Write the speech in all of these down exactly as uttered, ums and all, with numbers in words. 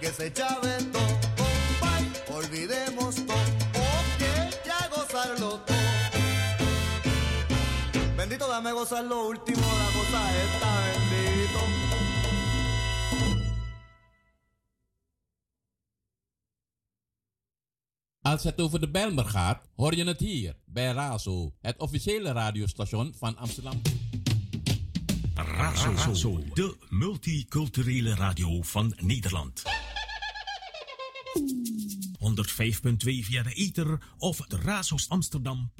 que se chave todo, compay, olvidemos todo, porque ya gozarlo todo. Bendito, dame gozar lo último, la cosa esta, bendito. Als het over de Bijlmer gaat, hoor je het hier bij Razo, het officiële radiostation van Amsterdam. Razo, Razo, de multiculturele radio van Nederland. honderdvijf komma twee via de ether of de Razos Amsterdam.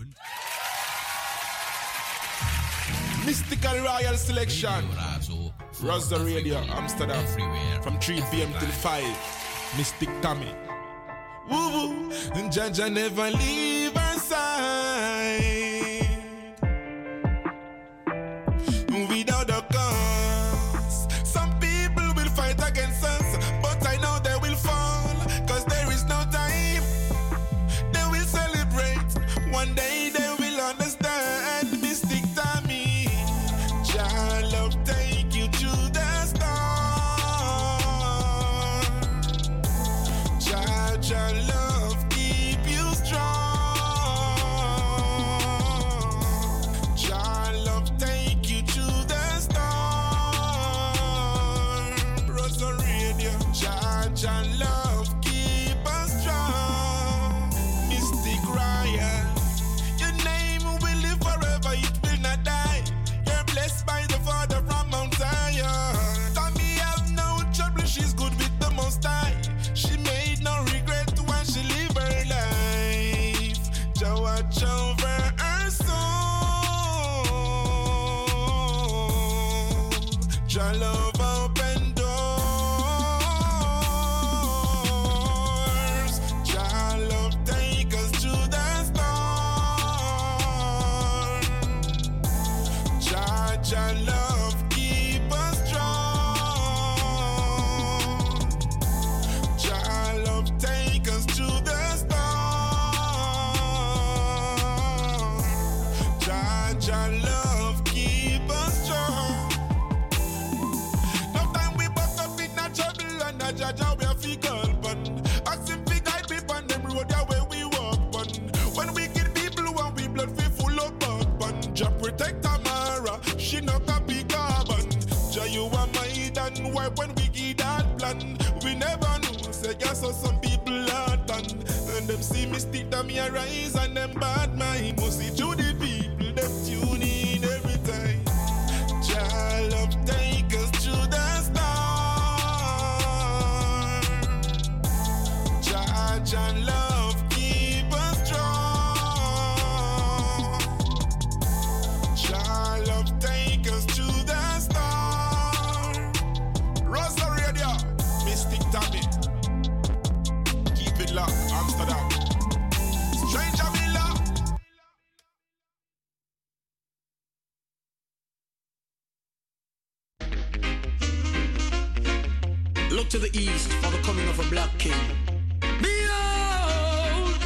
Mystical Royal Selection. Razo Radio Amsterdam. Everywhere. From three p.m. till five. Mystic Tommy. Woo woo. Jaja never leave our side. Without a cause. Some people will fight against us, but I know they will fall. Cause there is no time. They will celebrate. One day they will understand. Mystic Tommy. Jah love take you to the star. Jah, Jah love keep you strong. Jah love take you to the star. Rosa Radio. Jah, Jah love keep us strong. Mystic Ryan. Your name will live forever, it will not die. You're blessed by the Father from Mount Zion. Tommy have no trouble, she's good with the Most High. She made no regret when she live her life. Jah watch over her soul. Jah love open doors. Jah love take us to the star. Jah, Jah love keep us strong. Jah love take us to the star. Jah, Jah love keep us strong. No time we buck up in a trouble and a Jah, Jah we a fickle bun. Ask him fi guide me on them road that way we walk bun. When we kill people when we blood fi full of bug bun. Jah protect Tamara, she no copy carbon. Jah you are my dan, why when we give that plan? We never know, say yes so some people are done. And them see me stick them here rise and them bad mind. Must see to the people, them tune in every time. Jah love take us to the star. Jah, Jah love keep us strong. Jah love take us to the star. Rosa Radio, Mystic Tommy. Keep it locked, Amsterdam. Stranger Villa. Look to the east for the coming of a black king. Behold,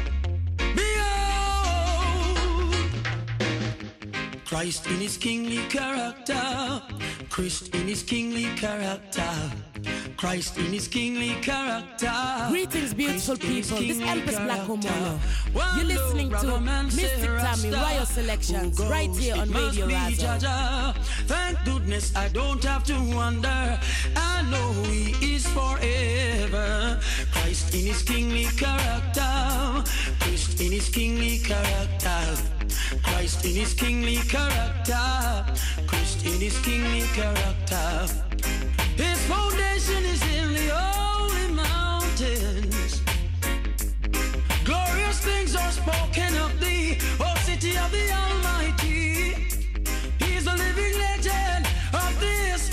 behold, Christ in his kingly character, Christ in his kingly character, Christ in his kingly character. Greetings, beautiful Christ in his people. This kingly Empress Black character. Woman. One You're listening look, to brother man, Mystic say Tommy Rasta, Royal Selections who right here goes, on it must Radio be Razo. Jaja. Thank goodness I don't have to wonder. I know he is forever. Christ in his kingly character. Christ in his kingly character. Christ in his kingly character. Christ in his kingly character. His foundation is in the holy mountains. Glorious things are spoken of thee, O city of the Almighty. He is the living legend of this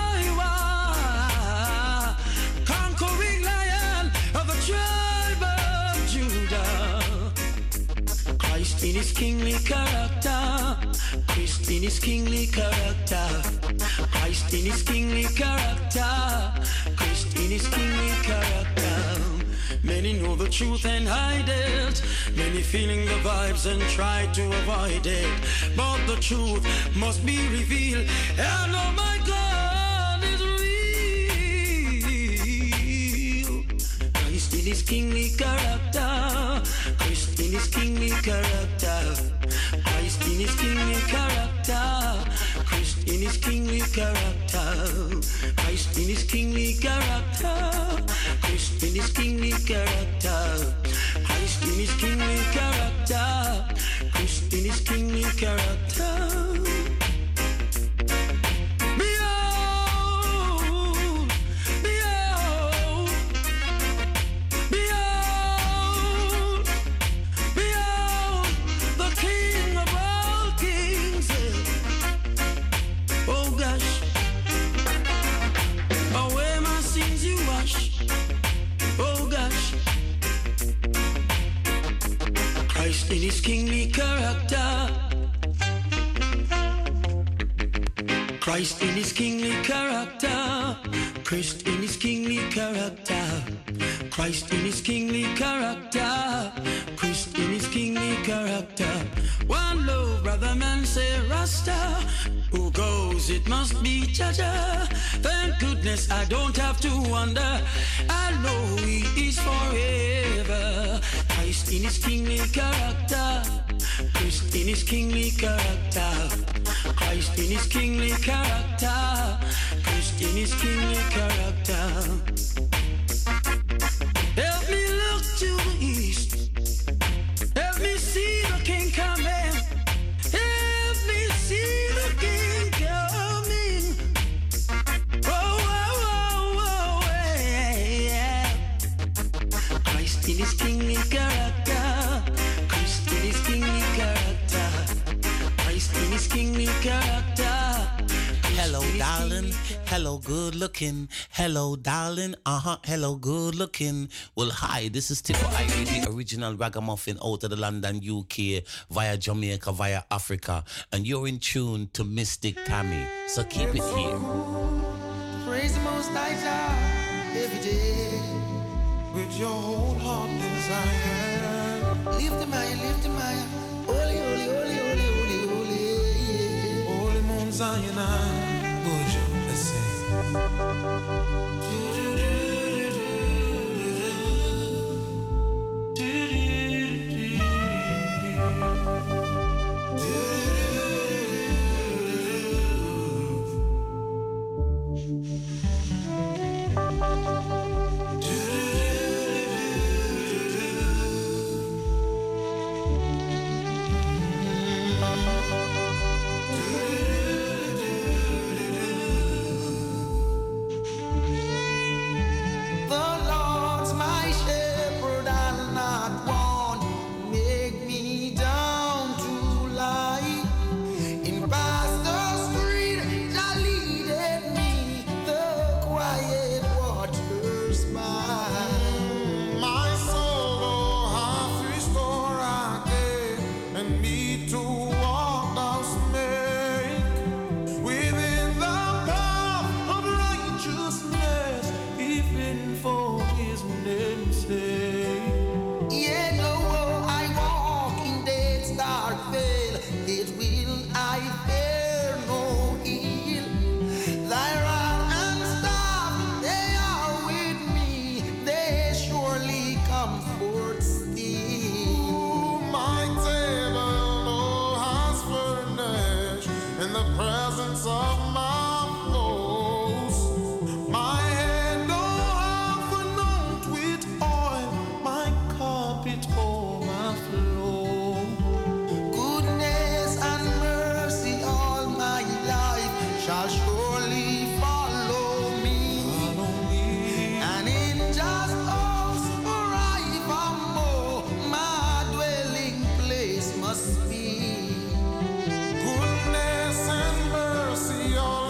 Iowa, conquering lion of the tribe of Judah. Christ in his kingly character. Christ in his kingly character. Christ in his kingly character. Christ in his kingly character. Many know the truth and hide it. Many feeling the vibes and try to avoid it. But the truth must be revealed. And oh my God is real. his kingly character. Christ in his kingly character. Christ in his kingly character. Christ in his kingly character. Christ in his kingly character. Christ in his kingly character. Christ in his kingly character. Christ in his kingly character. Behold, behold, behold, behold, the King of all kings. Oh gosh, away my sins you wash. Oh gosh, Christ in his kingly character. Christ in his kingly character. Christ in his kingly character. Christ in his kingly character. Christ in his kingly character. One low brother man say Rasta. Who goes? It must be Jaja. Thank goodness I don't have to wonder. I know he is forever. Christ in his kingly character. Christ in his kingly character. Christ in his kingly character. Christ in his kingly character. Help me look to the east. Help me see the King coming. Help me see the King coming. Oh, oh, oh, oh, yeah. Christ in his kingly character. Christ in his kingly character. Christ in his kingly character. Hello, darling. Hello, good looking. Hello, darling. Uh huh. Hello, good looking. Well, hi, this is Tipo I E, the original ragamuffin out of the London, U K, via Jamaica, via Africa. And you're in tune to Mystic Tammy. So keep it here. Praise the Most High God every day with your whole heart desire. Lift him higher, lift him higher. Holy, holy, holy, holy, holy, holy. Holy Mount Zion, would you let's sing? Goodness and mercy all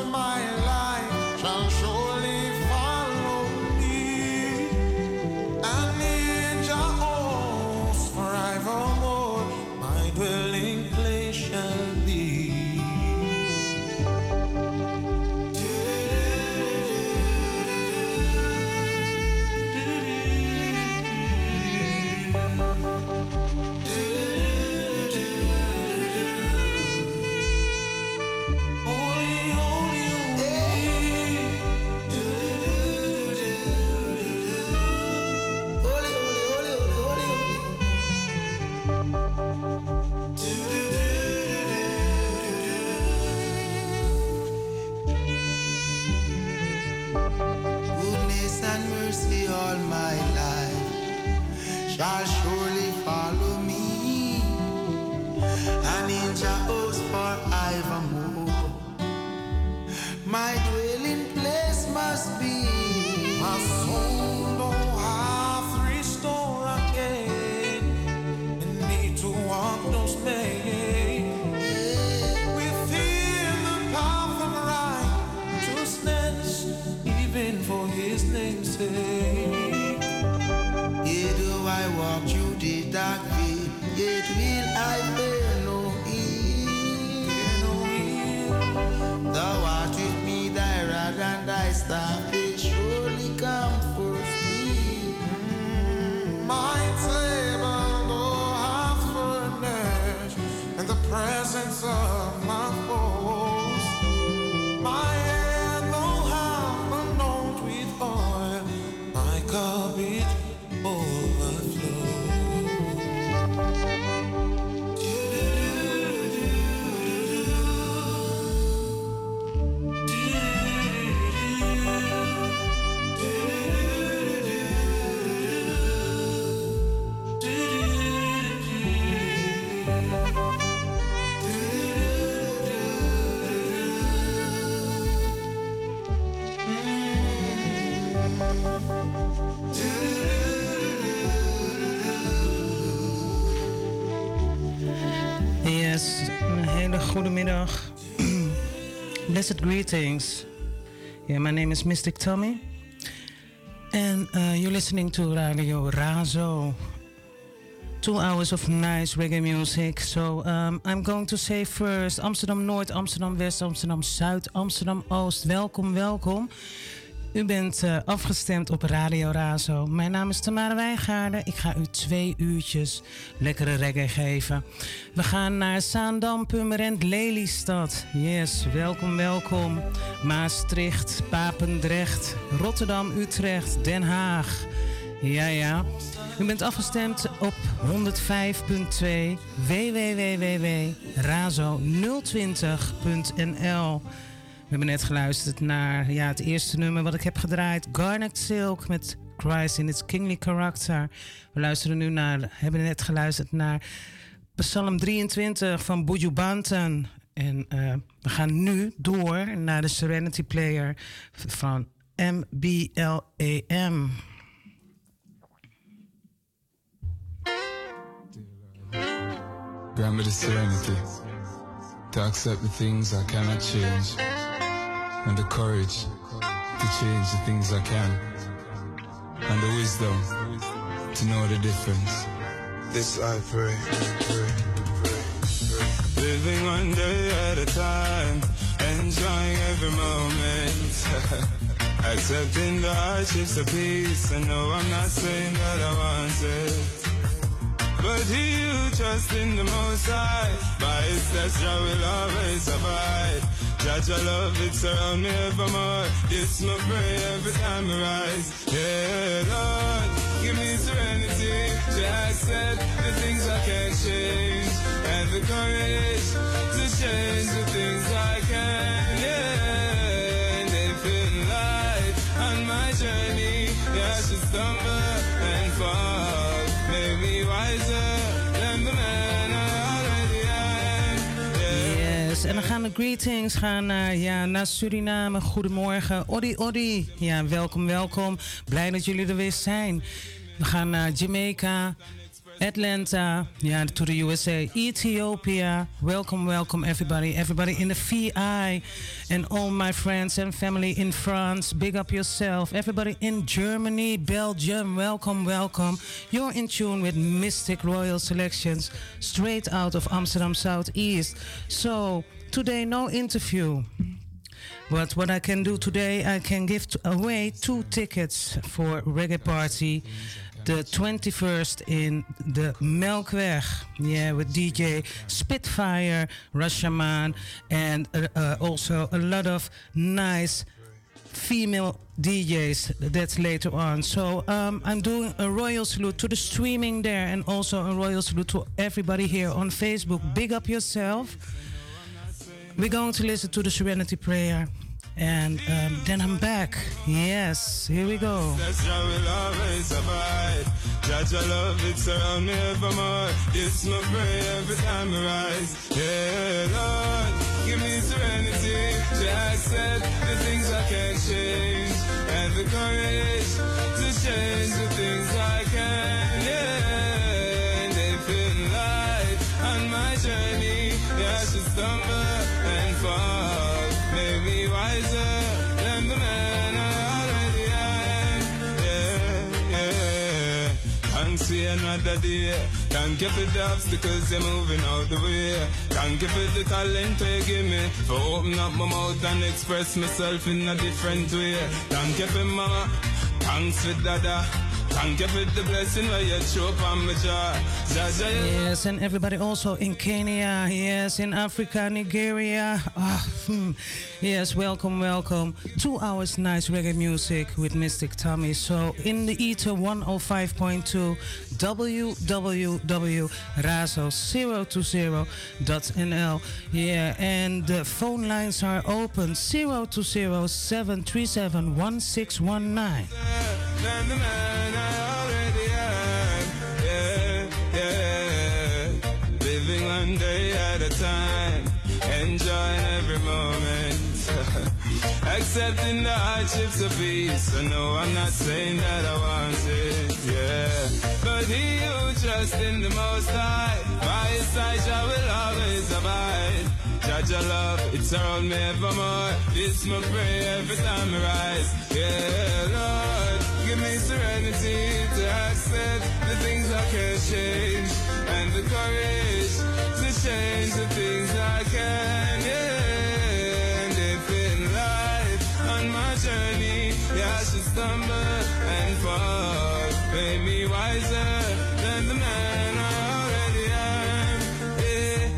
shall surely follow me, and in Jehovah's forevermore. My dwelling place must be. My soul don't have restore again, and need to walk those ways within the path of righteousness, even for His name's sake. Yet do I walk through the dark way, yet will I fear no ill. Thou art with me, thy rod and thy staff, they surely comfort me. My table though have furnished in the presence of my foes. My head though have anointed with oil, my cup it overflows. Yes, een hele goede middag. Blessed greetings. Yeah, my name is Mystic Tommy. And uh, you're listening to Radio Razo. Two hours of nice reggae music. So um, I'm going to say first Amsterdam Noord, Amsterdam West, Amsterdam Zuid, Amsterdam Oost. Welkom, welkom. U bent uh, afgestemd op Radio Razo. Mijn naam is Tamara Wijngaarden. Ik ga u twee uurtjes lekkere reggae geven. We gaan naar Zaandam, Purmerend, Lelystad. Yes, welkom, welkom. Maastricht, Papendrecht, Rotterdam, Utrecht, Den Haag. Ja, ja. U bent afgestemd op honderd vijf punt twee w w w w punt razo nul twintig punt n l. We hebben net geluisterd naar ja, het eerste nummer wat ik heb gedraaid. Garnet Silk met Christ in its Kingly Character. We luisteren nu naar, hebben net geluisterd naar Psalm drieëntwintig van Buju Banton. En uh, we gaan nu door naar de Serenity Player van M B L A M. Grant me the serenity to accept the things I cannot change, and the courage to change the things I can, and the wisdom to know the difference. This I pray, pray, pray, pray. Living one day at a time, enjoying every moment. Accepting the hardships of peace, and no, I'm not saying that I want it. But he who trusts in the Most High, by his steps I will always abide. Judge your love, it surround me evermore. This my prayer every time I rise. Yeah, Lord, give me serenity to accept the things I can't change, and the courage to change the things I can. Yeah, and if in life on my journey, yeah, I should stumble and fall. Make me wiser than the man I already am. Yeah. Yes, en dan gaan de greetings gaan naar, ja, naar Suriname. Goedemorgen. Odi, Odi. Ja, welkom, welkom. Blij dat jullie er weer zijn. We gaan naar Jamaica, Atlanta, yeah, to the U S A, Ethiopia. Welcome, welcome everybody. Everybody in the V I and all my friends and family in France. Big up yourself. Everybody in Germany, Belgium. Welcome, welcome. You're in tune with Mystic Royal Selections straight out of Amsterdam Southeast. So today no interview. But what I can do today, I can give away two tickets for Reggae Party. The twenty-first in the Melkweg, yeah, with D J Spitfire, Rashaman, and uh, uh, also a lot of nice female D Js. That's later on. So um, I'm doing a royal salute to the streaming there, and also a royal salute to everybody here on Facebook. Big up yourself. We're going to listen to the Serenity Prayer. And um, then I'm back. Yes, here we go. That's how we'll always abide. Judge your love, it's around me evermore. It's my prayer every time I rise. Yeah, Lord, give me serenity to accept the things I can't change, and the courage to change the things I can. Yeah, and if in life on my journey, yeah, I should stumble and fall. Make me wiser than the man I already am. Yeah, yeah. Thanks for another day. Thank you for the obstacles you're moving out the way. Thank you for the talent you give me, for opening up my mouth and express myself in a different way. Thank you for mama. Thanks for dada. Thank you for the blessing where you show up on my jaw. Yes, and everybody also in Kenya, yes, in Africa, Nigeria. Oh, hmm. Yes, welcome, welcome. Two hours nice reggae music with Mystic Tommy. So in the ether one oh five point two w w w dot razo zero two zero dot n l. Yeah, and the phone lines are open zero two zero seven three seven one six one nine. Than the man I already am. Yeah, yeah. Living one day at a time, enjoying every moment. Accepting the hardships of peace. I know I'm not saying that I want it, yeah. But he who trusts in the Most High, by his side I will always abide. Judge your love, it's around me evermore. It's my prayer every time I rise. Yeah, Lord, give me serenity to accept the things I can't change, and the courage to change the things I can. Yeah, and if in life on my journey, yeah, I should stumble and fall, make me wiser than the man I already am. Yeah,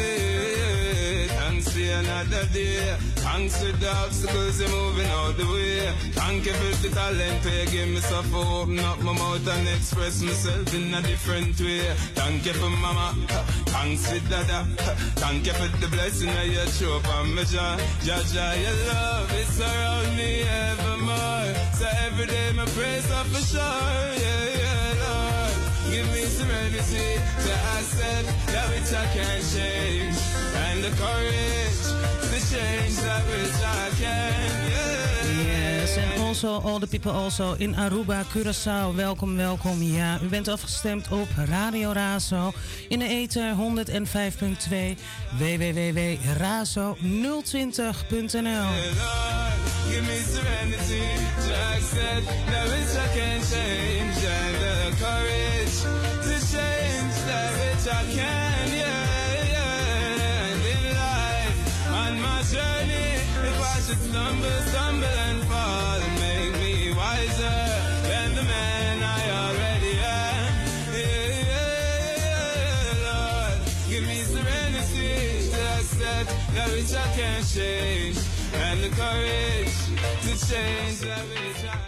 yeah, thanks for another day. Thanks for the obstacles you're moving out the way. Thank you for the talent you give me, so for open up my mouth and express myself in a different way. Thank you for mama, thanks for dada. Thank you for the blessing that you show up on my jaw. Jaja, your love is around me evermore. So every day my praise up for sure. Yeah, yeah, Lord, give me serenity to accept that which I can't change, and the courage to change that which I can. Yeah. Yes, and also all the people also in Aruba, Curaçao. Welkom, welkom. Ja, u bent afgestemd op Radio Razo in de ether honderd vijf komma twee w w w punt razo nul twintig punt n l. Give me serenity to accept that which I can't change, and the courage to change that which I can. Yeah, yeah. And in life, on my journey, if I should stumble, stumble and fall, make me wiser than the man I already am. Yeah, yeah, yeah, Lord, give me serenity to accept that which I can't change, and the courage to change that which I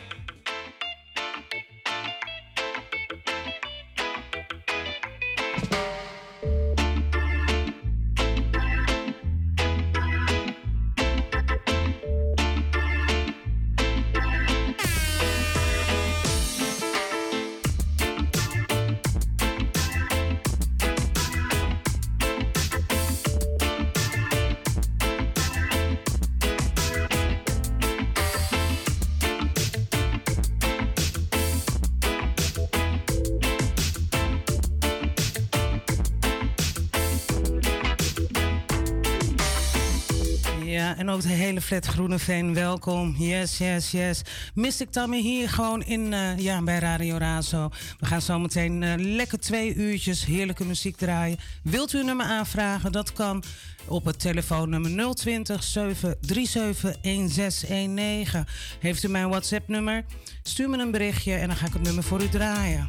en ook de hele flat Groeneveen, welkom. Yes, yes, yes. Mystic Tommy hier gewoon in, uh, ja, bij Radio Razo. We gaan zo meteen uh, lekker twee uurtjes heerlijke muziek draaien. Wilt u een nummer aanvragen? Dat kan op het telefoonnummer nul twintig, zeven drie zeven, een zes een negen. Heeft u mijn WhatsApp-nummer? Stuur me een berichtje en dan ga ik het nummer voor u draaien.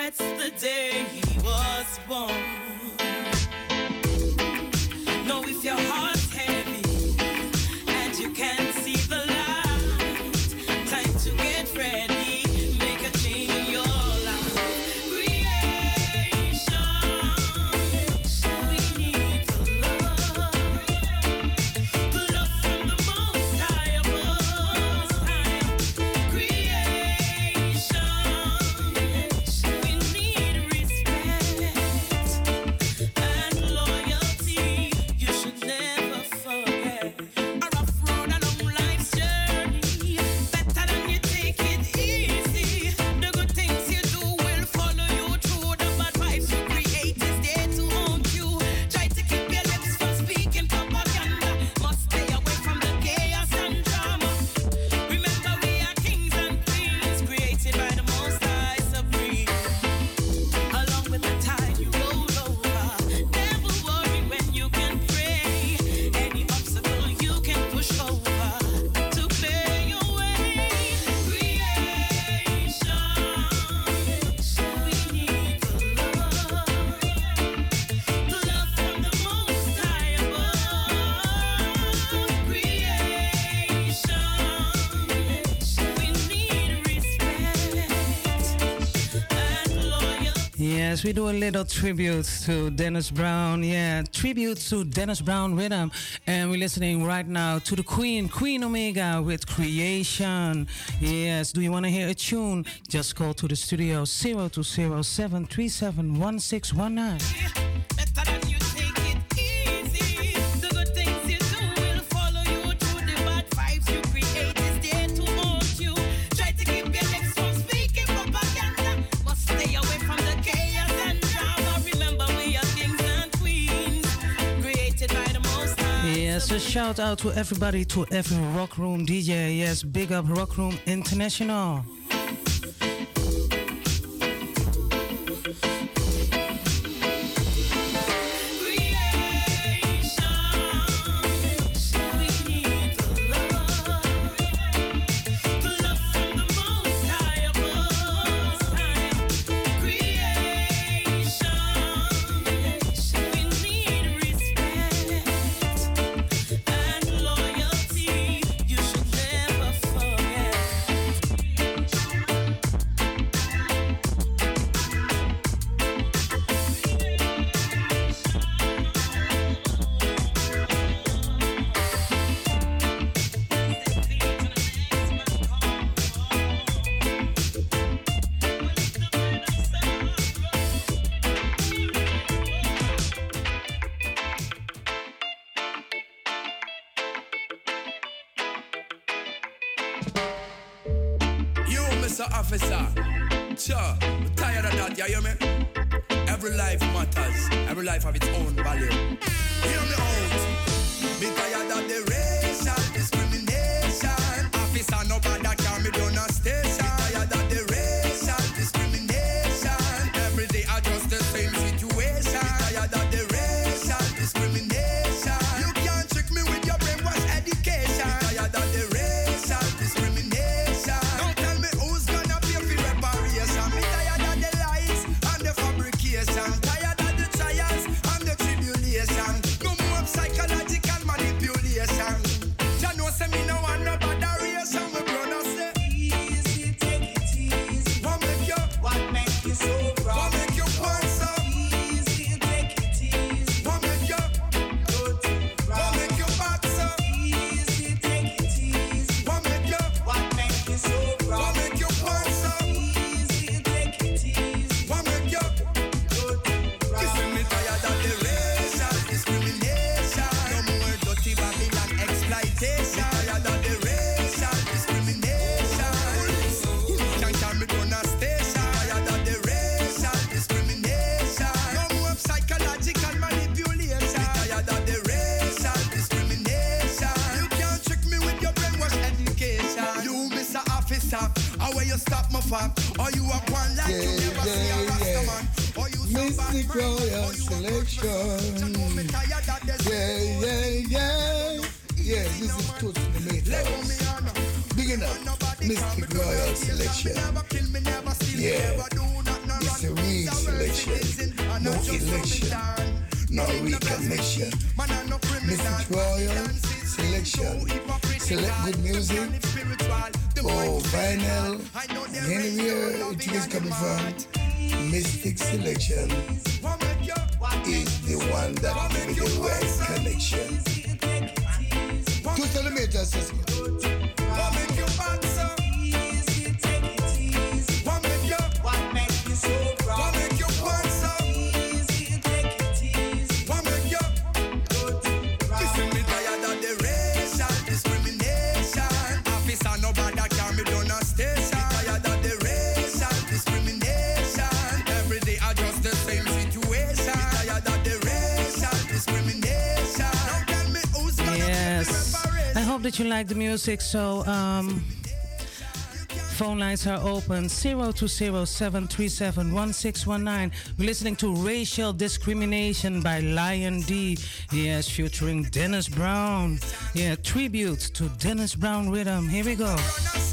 regrets the day he was born. Know if your heart's heavy and you can't see the light, time to get ready, make a change in your life. Creation, we need the love, the love from the Most High above. Creation, we need respect and loyalty. You should never forget. A rough road along life's journey, better than you take it easy. The good things you do will follow you through. The bad vibes you create is there to haunt you. Try to keep your lips from speaking propaganda. Must stay away from the chaos and drama. Remember we are kings and queens, created by the Most High Supreme. Along with the tide you roll over. Never worry when you can pray. Any obstacle you can push over to clear your way. Creation, we need the love, the love from the Most High above. Creation, we need respect and loyalty. Yes, we do a little tribute to Dennis Brown. Yeah, tribute to Dennis Brown Rhythm. And we're listening right now to the Queen, Queen Omega with Creation. Yes, do you want to hear a tune? Just call to the studio zero two zero seven three seven one six one nine. Better than you take it easy. The good things you do will follow you through. The bad vibes you create is there to haunt you. Try to keep your lips from speaking propaganda. Must stay away from the chaos and drama. Remember we are kings and queens, created by the Most High. Yes, a shout out to everybody, to every Rock Room D J. Yes, big up Rock Room International. We need the love, the love from the Most High above. Creation, we need respect and loyalty. You should never forget. You, Mister Officer, sure, I'm tired of that, you hear me? Every life matters, every life have its own value. Hear me out. Me tired of the racial discrimination. Officer, nobody can me down a station. Me tired of the racial discrimination. Every day I just the same situation. Me tired of the racial discrimination. You can't trick me with your brainwash education. Me tired of the racial discrimination. Don't tell me who's gonna pay for reparation. Me tired of the lies and the fabrication. Tired of the trials and the tribulation. No more psychological manipulation. Ya know say me no want no botheration. We brother say easy, take it easy. What make you? What make you so proud? What make you want so? Easy, take it easy. What make you? Good, what make you back so? Easy, take it easy. What make you? What make you so proud? What make you want so? Easy, take it easy. What make you? Good, listen, me tired of the racial discrimination. No more dirty Babylon exploitation. Tired of the racial discrimination. Can't carry me down a station. Tired of the racial discrimination. No more psychological manipulation. Tired of the racial discrimination. You can't trick me with your brainwash education. You, Mister Officer, how will you stop my fam? Or you are one like you never see a Rasta man? Or you so bad Mystic Royal Selection. Yeah, yeah, yeah. Yeah, this is Toast Tomatoes. Big enough. Mystic Royal Selection. Yeah. It's a real selection. No election. No reconnection. Mister Royal selection. Select good music. Oh, vinyl. And anywhere it is coming from, Mystic Selection is the one that gives me the right connection. Two centimeters, sister. That you like the music, so um, phone lines are open zero two zero seven three seven one six one nine. We're listening to Racial Discrimination by Lion D. Yes, featuring Dennis Brown. Yeah, tribute to Dennis Brown rhythm. Here we go.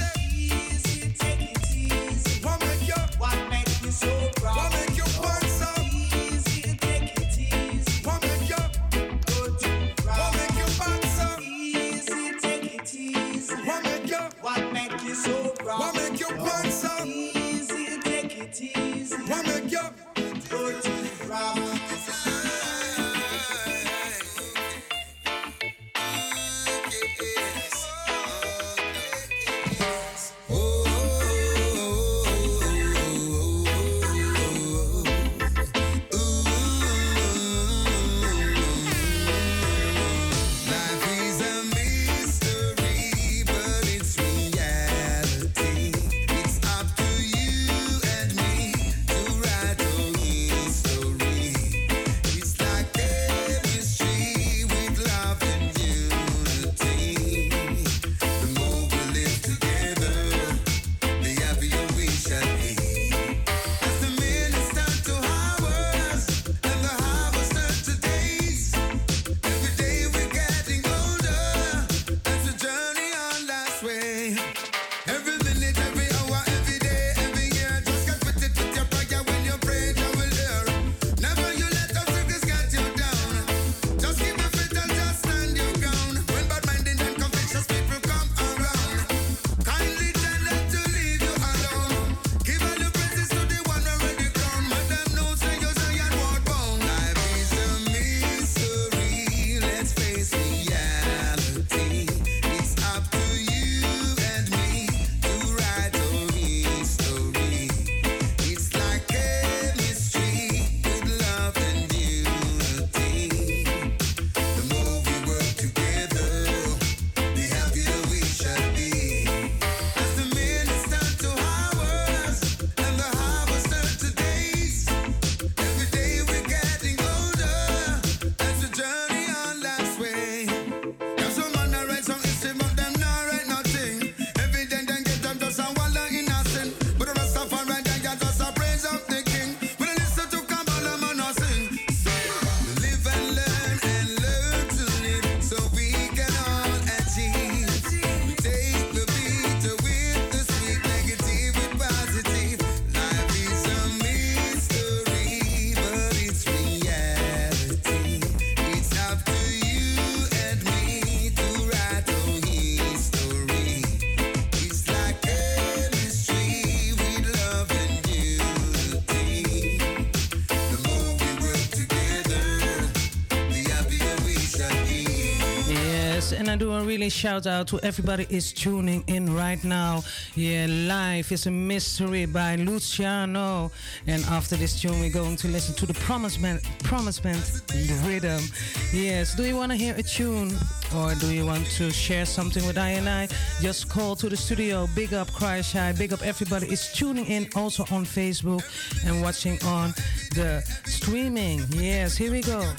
And I do a really shout out to everybody is tuning in right now. Yeah, Life is a Mystery by Luciano. And after this tune, we're going to listen to the Promise Band, Promise Band rhythm. Yes, do you want to hear a tune? Or do you want to share something with I and I? Just call to the studio. Big up Cry Shy. Big up everybody is tuning in also on Facebook and watching on the streaming. Yes, here we go.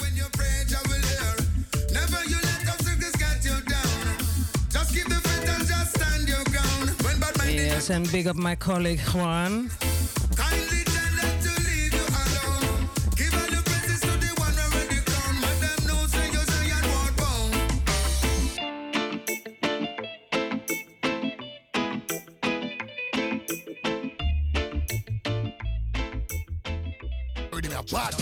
Yes, and big up my colleague Juan. a bad.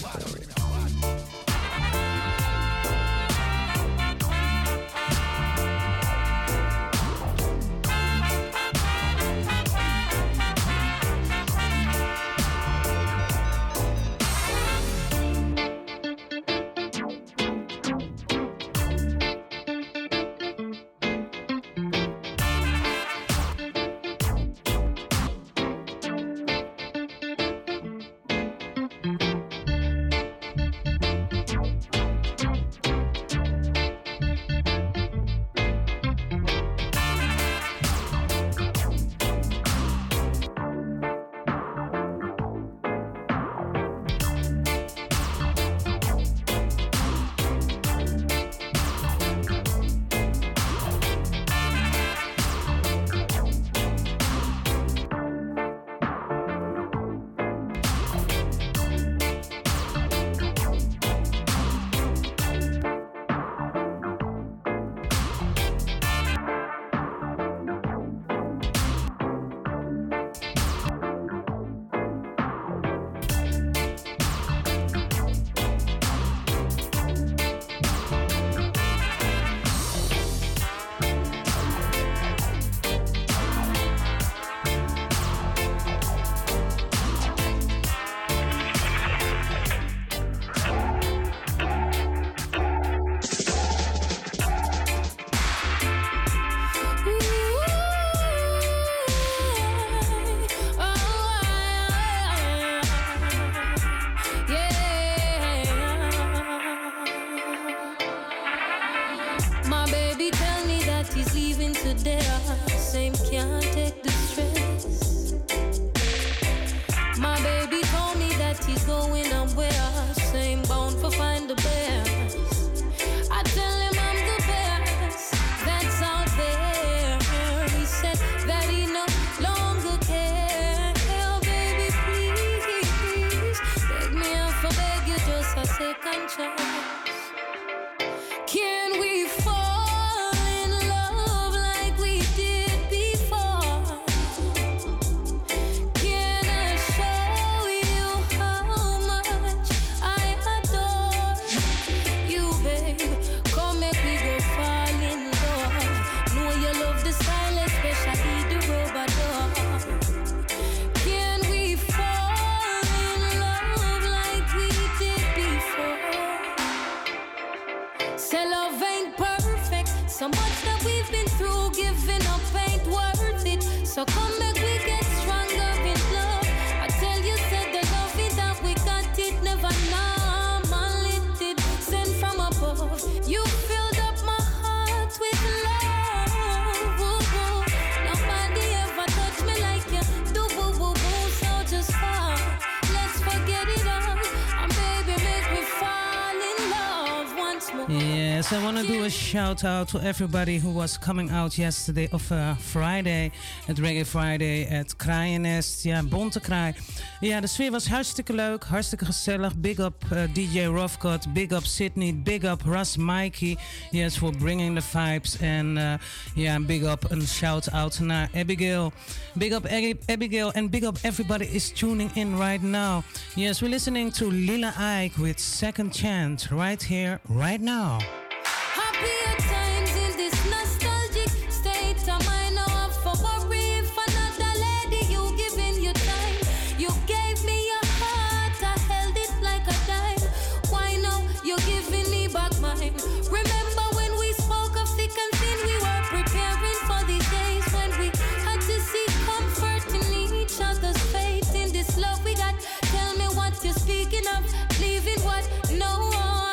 Yes, I want to do a shout out to everybody who was coming out yesterday of uh, Friday, at Reggae Friday at Kraaiennest. Ja, Bonte Kraai. Ja, de sfeer was hartstikke leuk, hartstikke gezellig. Big up uh, D J Roughcut, big up Sydney, big up Russ Mikey. Yes, for bringing the vibes. En uh, ja, big up een shout out naar Abigail. Big up Abigail and big up everybody is tuning in right now. Yes, we're listening to Lila Ike with Second Chance right here, right now. Happier times in this nostalgic state of mind. Now I'm for worry if another lady you giving your time. You gave me your heart, I held it like a dime. Why now you giving me back mine? Remember when we spoke of thick and thin, we were preparing for these days when we had to seek comfort in each other's faith. In this love we got, tell me what you're speaking of, leaving what? No.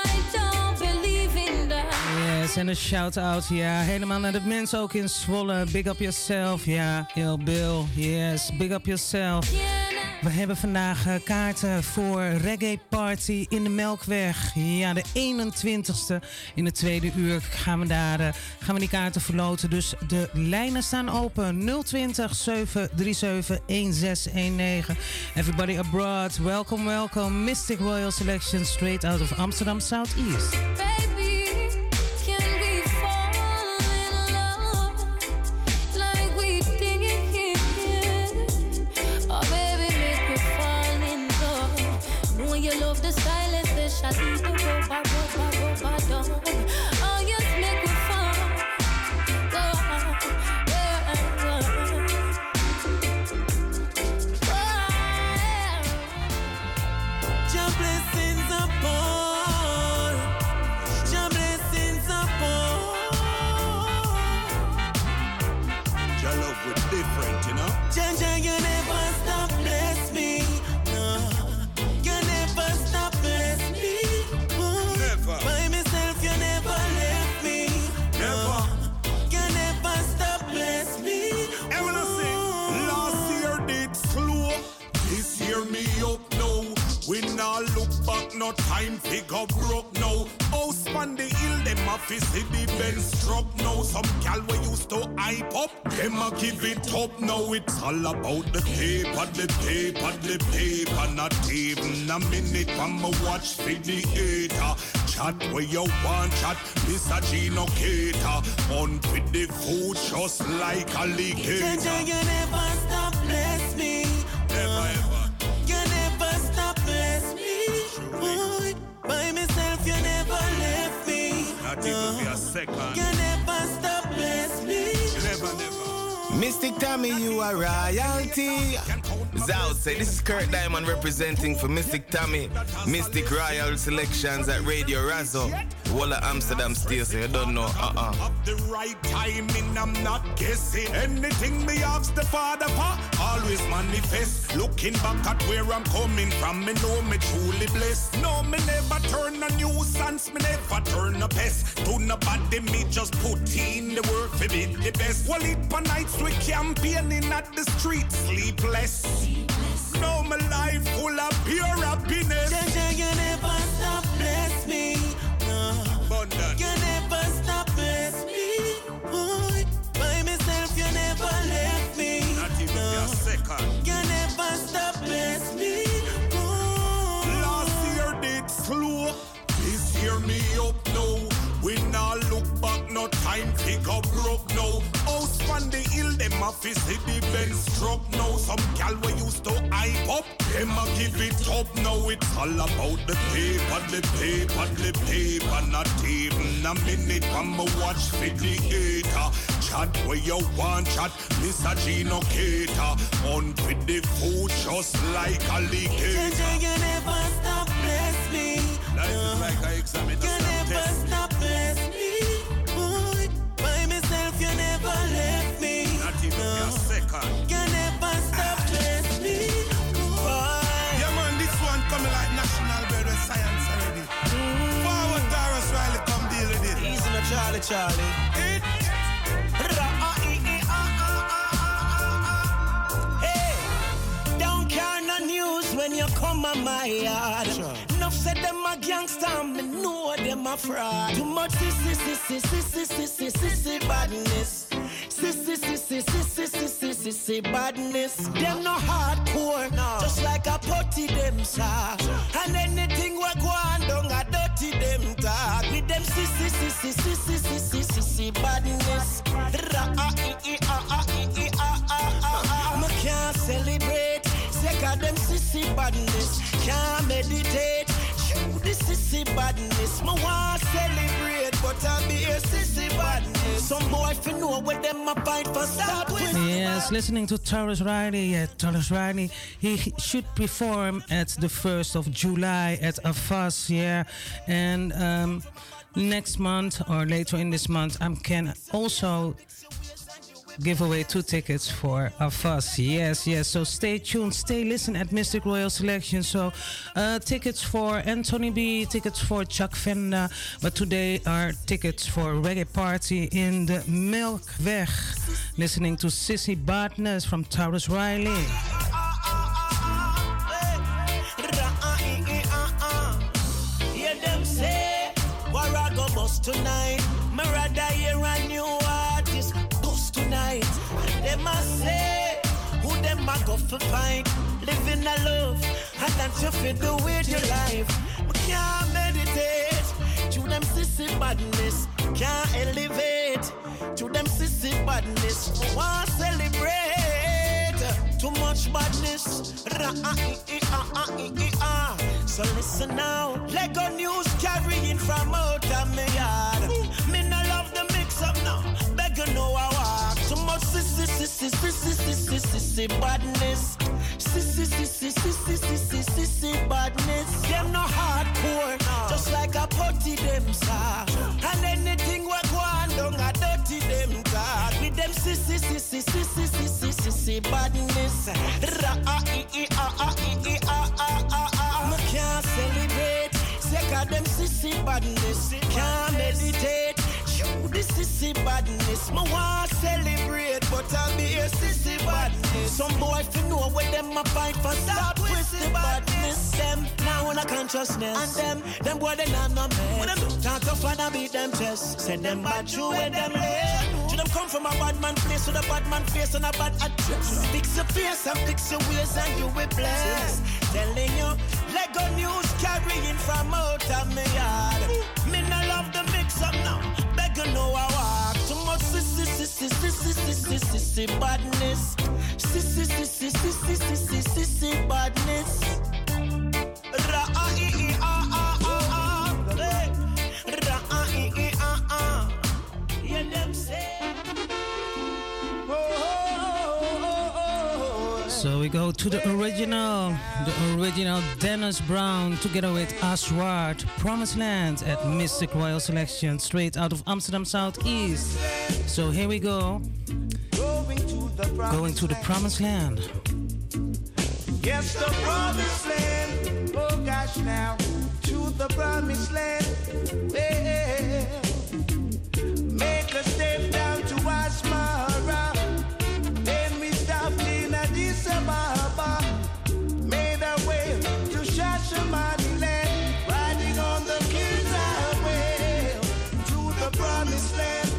Yes, en een shout-out, ja, helemaal naar de mensen ook in Zwolle. Big up yourself, ja, heel Bill, yes, big up yourself. We hebben vandaag uh, kaarten voor Reggae Party in de Melkweg. Ja, de eenentwintigste in het tweede uur gaan we daar uh, gaan we die kaarten verloten. Dus de lijnen staan open. nul twintig, zeven drie zeven, een zes een negen. Everybody abroad, welcome, welcome. Mystic Royal Selection straight out of Amsterdam Southeast. you know. Jaja, you never stop bless me. No, you never stop bless me. Oh, Never. by myself, you never left me. Never. You never stop bless me. And when I say, last year did slow, this year me up now. We now look back, no time figure broke now. House on the hill, them a fi see the Benz struck now. Some gal we used to hype up, them a give it up now. It's all about the paper, the paper, the paper. Not even a minute from my watch for the hater. Chat where you want chat, Mister Gino Cater. On with the food just like alligator. Jaja, you never stop bless me. Never ever. You never stop bless me. Oh, by myself, you never left me. Not even for a second. You never stop bless me. Never, never. Mystic Tommy, you are royalty. Zout say this is Kurt Diamond representing for Mystic Tommy, Mystic Royal Selections at Radio Razo. Walla Amsterdam still say you don't know. Uh-uh. Of the right timing, I'm not guessing. Anything me ask the Father for, always manifest. Looking back at where I'm coming from, me know me truly blessed. No, me never turn a nuisance, me never turn a pest. To nobody, me just put in the work for be the best. Well, it for nights we campaigning at the street, sleepless. No, my life full of pure happiness. Jaja, you never stop bless me. No, Abundant. you never stop bless me. Oh, by myself, you never left me. Not even no, for a second. you never stop bless me. Oh. Last year did slow, this year me up now. We now look back, no time figure broke now. House on the hill, them a fi see the Benz struck now. Some gal we used to hype up, them a give it up now. It's all about the paper, the paper, the paper. Not even a minute from my watch for the hater. Chat where you want chat, Mister Gino Cater. On with the food just like alligator. Jaja, you never stop bless me. Life is like an exam, it's You a never test. stop bless me. Oh, by myself, you never left me. Not even for a second. You never stop bless me. Yeah, man, this one coming like national bird with science already. Forward, Taurus Riley, come deal with it. Easy no Charlie Charlie. It. Hey, don't care no news when you come on my yard. Enough said them a gangster, me know them a fraud. Too much sissy, sissy, sissy, sissy, sissy badness. Sissy, sissy, sissy, sissy, sissy badness. Them no hardcore, just like a putty them saw. And anything we go on down a dirty them talk. With them sissy, sissy, sissy, sissy, sissy badness. Me can't celebrate, sick of them sissy badness. Can't meditate, shoot the sissy badness. Me want celebrate, but I be a sissy badness. Some boy fi know what them a fight for start with. Yes, listening to Taurus Riley. Yeah, Taurus Riley. He should perform at the first of July at A F A S. Yeah, and um, next month or later in this month, I can also give away two tickets for A F A S. Yes, yes. So stay tuned, stay listen at Mystic Royal Selection. So uh, tickets for Anthony B, tickets for Chuck Venda, but today are tickets for Reggae Party in the Melkweg. Listening to Sissy Badness from Taurus Riley. Hear them say, where I go bust tonight. Me rather hear a new artist bust tonight. And them a say, who them a go for fight. Living a love, and that's you fit the way your life. We can't meditate, to them sissy badness. Can't elevate, to them sissy badness. Want celebrate, too much badness. So listen now, Lego news carrying from out of my yard. Me no love the mix up now, beg you know I walk. Too much sissy, sissy, sissy, sissy, sissy badness. Sissy, sissy, sissy, sissy, sissy badness. Them no hardcore, just like a putty them saw. And anything we go on down a dirty them talk. With them sissy, sissy, sissy, sissy, sissy badness. I can't celebrate. Sick of them sissy badness. Can't meditate. This sissy badness, me want celebrate, but I'll be a sissy badness. Some boy fi know where them a fight for stop with the badness. Them now in a consciousness, and them them boy they not no man. When them talk tough and I beat them chest, send them bad through where them lay. To them come from a bad man place with a bad man face and a bad address. Fix your face and fix your ways and you will bless. Telling you, Lego news carrying from out of me yard. Me no love the mix up now. You know I walk too much sissy, sissy, sissy, sissy, sissy badness. Sissy, sissy, sissy, sissy, sissy badness. Ra-ah-ee-ah-ah-ah-ah. Ra-ah-ee-ah-ah. Hear them say. So we go to the original, the original Dennis Brown together with Aswad, Promised Land at Mystic Royal Selection, straight out of Amsterdam Southeast. So here we go, going to the Promised Land. Yes, the Promised Land. Oh gosh, now to the Promised Land. Yeah. Make a step down to Asmara. Then we stopped in Addis Ababa. Made our way to Shashamaniland. Riding on the King's Highway to the Promised Land.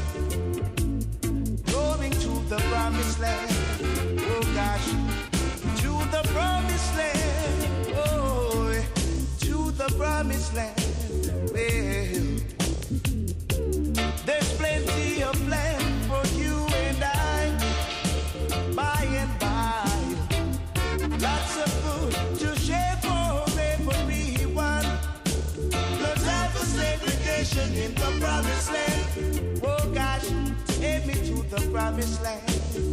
Going to the Promised Land. Oh gosh, to the Promised Land. Oh, to the Promised Land. Well, there's plenty of land for you and I, by and by. Lots of food to share for everyone. No time for segregation in the Promised Land. Oh gosh, take me to the Promised Land.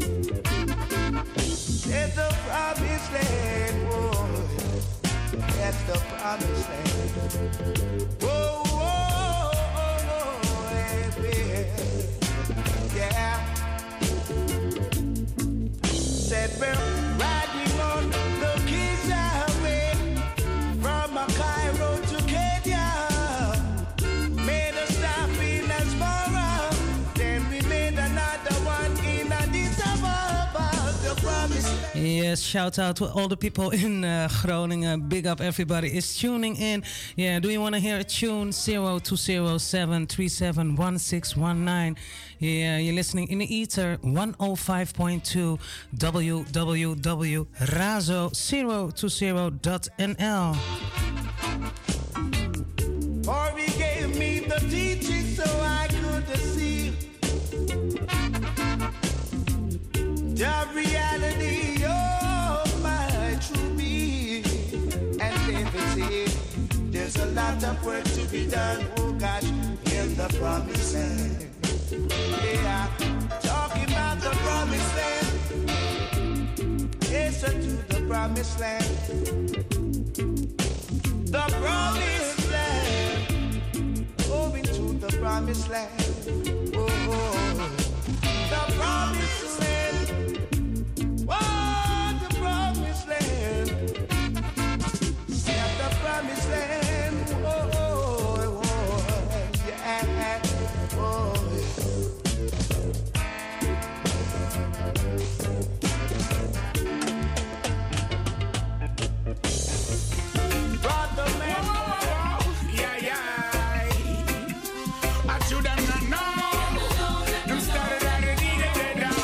It's the Promised Land, oh, that's the Promised Land. Whoa, whoa, whoa, yeah. Said we're riding on the King's Highway from Cairo to Kenya. Made a stop in Asmara, then we made another one in Addis Ababa. The Promised Land. Yes, shout out to all the people in uh, Groningen. Big up, everybody is tuning in. Yeah, do you want to hear a tune? zero two zero seven three seven one six one nine. Yeah, you're listening in the ether one oh five point two w w w dot razo zero two zero dot n l. For he gave me the teaching so I could see the reality of my true being. And David said, there's a lot of work to be done, oh gosh, in the Promised Land. Yeah, talking about the Promised Land. Yes, to the Promised Land. The Promised Land. Going to the Promised Land. Oh, oh. The Promised Land. Oh, the Promised Land. Yeah, the Promised Land. Oh, oh, oh, yeah. Oh. Brother man, yeah, yeah. I should have not known. Them started at the need of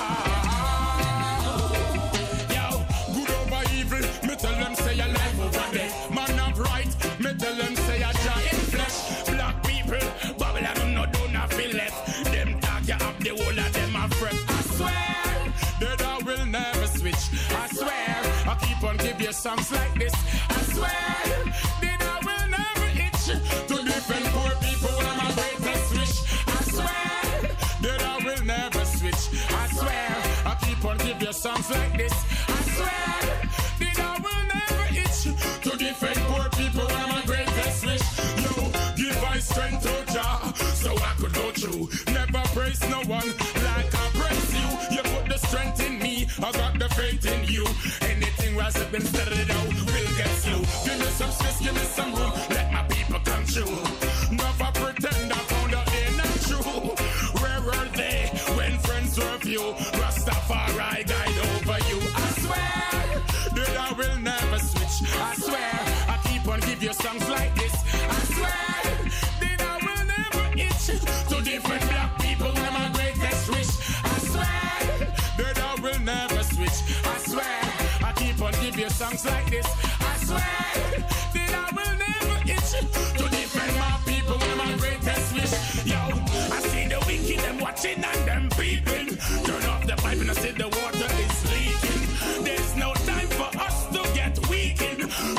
Yo, good over evil. Me tell them say I life over there. Man of right. Me tell them say I giant flesh. Black people, Babylon no do not feel left. Them talk you up the whole of them a fret. I swear that I will never switch. I swear I keep on give you songs like this. I swear that I will never itch to defend poor people when my greatest wish. I swear that I will never switch. I swear I keep on give you songs like this. I swear that I will never itch to defend poor people when my greatest wish. Yo, give I strength to Jah so I could go through. Never praise no one like I praise you. You put the strength in me. I got the faith in you. Anything rise up and set it out, we'll get slow. Give me some space, give me some room, let my people come true. Never pretend I found out they're not true. Where were they when friends were few? Rastafari guide over you. I swear that I will never switch. I swear I keep on give you songs like this. I swear that I will never itch to different black people when my greatest wish. I swear that I will never switch. I swear I keep on give you songs like this. I swear that I will never itch to different my people when my greatest wish. Yo, I see the wicked them watching and them peeping. Turn off the pipe and I see the water is leaking. There's no time for us to get weakened.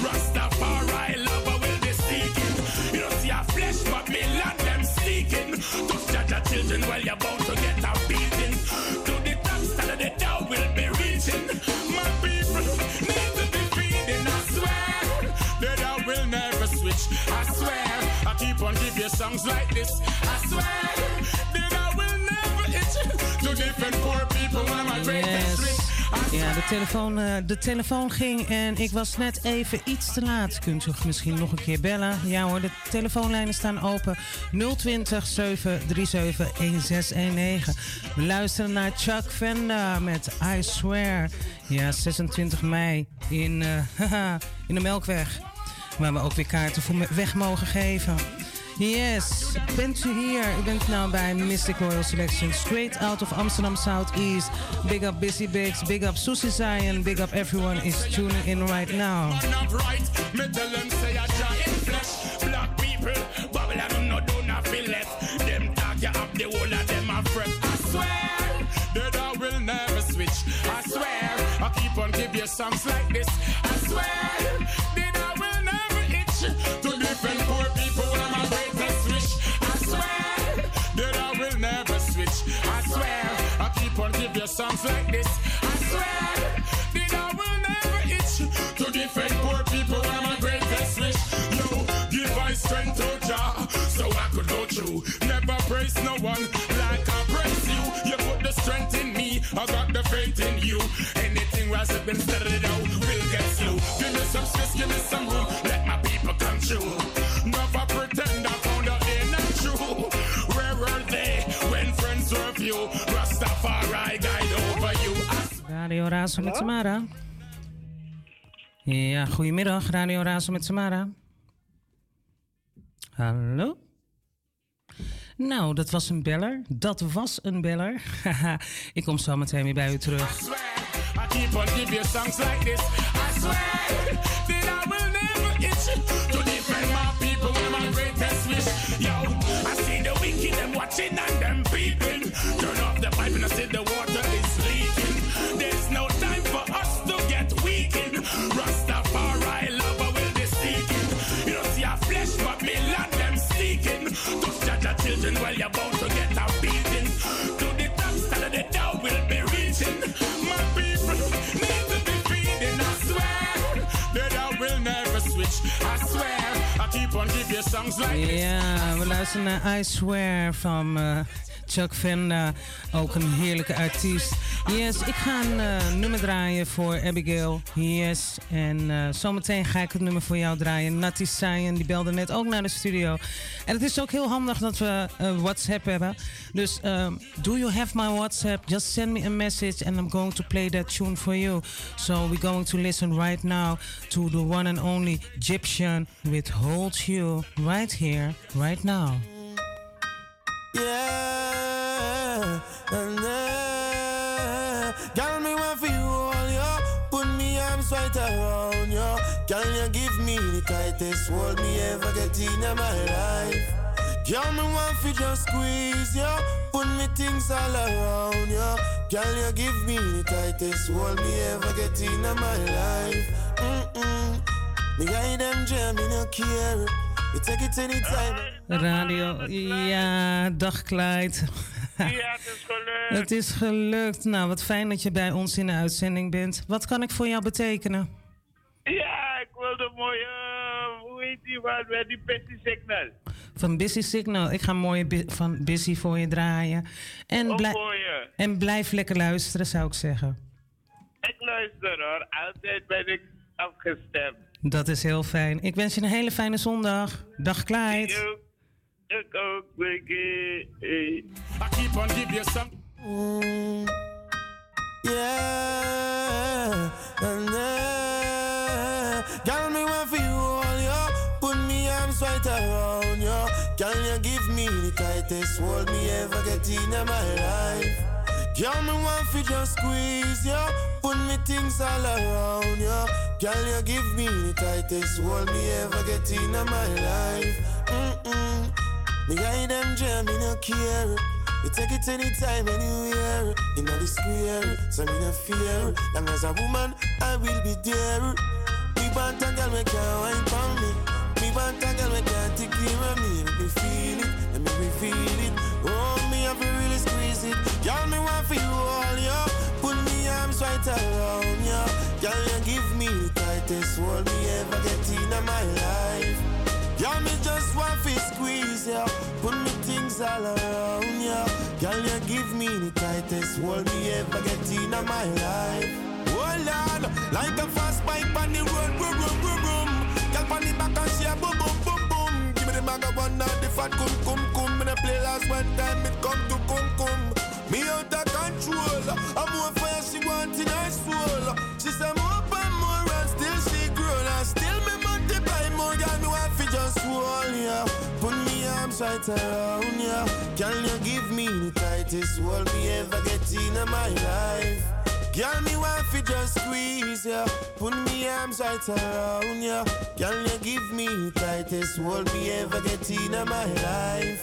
Rastafari lover will be seeking. You don't see our flesh but me land them seeking. To judge our children while you're about to get a beating. To the top stand of the down will be reaching. My people need to be feeding. I swear that I will never switch. I swear I keep on give you songs like this. I swear that I will never itch to different poor people when my greatest Yes. wish. Ja, de telefoon, eh, de telefoon ging en ik was net even iets te laat. Kunt u misschien nog een keer bellen? Ja hoor, de telefoonlijnen staan open. nul twintig, zeven drie zeven, een zes een negen. We luisteren naar Chuck Venda met I Swear. Ja, zesentwintig mei in, eh, in de Melkweg. Waar we ook weer kaarten voor me- weg mogen geven. Yes, bent u hier? U bent nou bij Mystic Royal Selection, straight out of Amsterdam Southeast. Big up Busy Biggs, big up Susie Zion, big up everyone is tuning in right now. Man of right, me tell them say I giant flesh. Black people, Babylon no do not feel left. Them talk you up the whole of them a fret. I swear that I will never switch. I swear I keep on give you songs like this. I swear that I will never itch to different poor people when my greatest wish. I swear that I will never switch. I swear I keep on give you songs like this. I swear that I will never itch to different poor people when my greatest wish. Yo, give I strength to Jah so I could go through. Never praise no one like I praise you. You put the strength in me, I got the faith in you. Anything rise up and set it out, we'll get slow. Give me some space, give me some room, let my people come true. Never pretend I found out they're not true. Where were they when friends were few? Rastafari guide over you. Radio Razo met Samara. Ja, goedemiddag, Radio Razo met Samara. Hallo? Nou, dat was een beller. Dat was een beller. Ik kom zo meteen weer bij u terug. I keep on give you songs like this. I swear that I will never itch to defend my people with my greatest wish. Yo, I see the wicked them watching and them peeping. Turn off the pipe and I see the water is leaking. There's no time for us to get weakened. Rastafari lover will be seeking. You don't see our flesh but me land them seeking. To judge our children while you're about to get a beating. To the top stand of the down will be reaching. My people need to be feeding. I swear that I will never switch. I swear I keep on give you songs like this. Ja, we luisteren naar I Swear van uh, Chuck Venda. Ook een heerlijke artiest. Yes, ik ga een uh, nummer draaien voor Abigail. Yes, en uh, zometeen ga ik het nummer voor jou draaien. Natty Sayen, die belde net ook naar de studio. En het is ook heel handig dat we uh, WhatsApp hebben. Dus um, do you have my WhatsApp? Just send me a message and I'm going to play that tune for you. So we're going to listen right now to the one and only Egyptian with Hold You right here, right now. Yeah, and uh, girl, me want for you all, yo. Put me arms right around you. Girl, you give me the tightest hold me ever get in my life. Girl, me want for just squeeze you. Put me things all around you. Girl, you give me the tightest hold me ever get in my life. Mm-mm. Me guide them jam, me no care. You take it anytime. Radio, ja, dag Clyde. Ja, het is gelukt. Het is gelukt. Nou, wat fijn dat je bij ons in de uitzending bent. Wat kan ik voor jou betekenen? Ja, ik wilde mooi, uh, hoe heet die wat, met die Busy Signal. Van Busy Signal. Ik ga een mooie bi- van Busy voor je draaien. En, Oh, blij- voor je. en blijf lekker luisteren, zou ik zeggen. Ik luister hoor, altijd ben ik afgestemd. Dat is heel fijn. Ik wens je een hele fijne zondag. Dag Clyde. Ik ook, ik ook, Wiggy. I keep on give you some. Mm, yeah, and uh, girl, me want for you all, yo. Put me arms right around you. Can you give me the tightest hold me ever get in my life? Girl, me want for just squeeze you. Put me things all around you. Girl, you give me the tightest hold me ever get in my life. Mm-mm. Me guide them jam, me no care. You take it anytime, anywhere. In the square, so me no fear. Long as a woman, I will be there. Me want a girl, me can't wine for me. Me want a girl, me can't take care of me. Let me feel it, let me me feel it. Oh, me have to really squeeze it. Girl, me want for you all, yo. Put me arms right around you. Girl, you give me the tightest hold me ever get in my life. Girl, me just want to squeeze you. Put me things all around you. Girl, you give me the tightest hold me ever get in my life. Oh Lord, like a fast bike on the road, boom, boom, boom, boom. Girl, on the back and she a boom, boom, boom, boom. Give me the bag of one now, the fat cum, cum, cum. Me the play last one time, it come to cum, cum. Me out of control. I'm more fire she want in her soul. She say more and more and still she grow. And still me multiply more. Girl, me want fi just hold ya. Put me arms right around ya. Can you give me the tightest hold me ever get in my life? Girl, me want fi just squeeze ya. Put me arms right around ya. Can you give me the tightest hold me ever get in my life?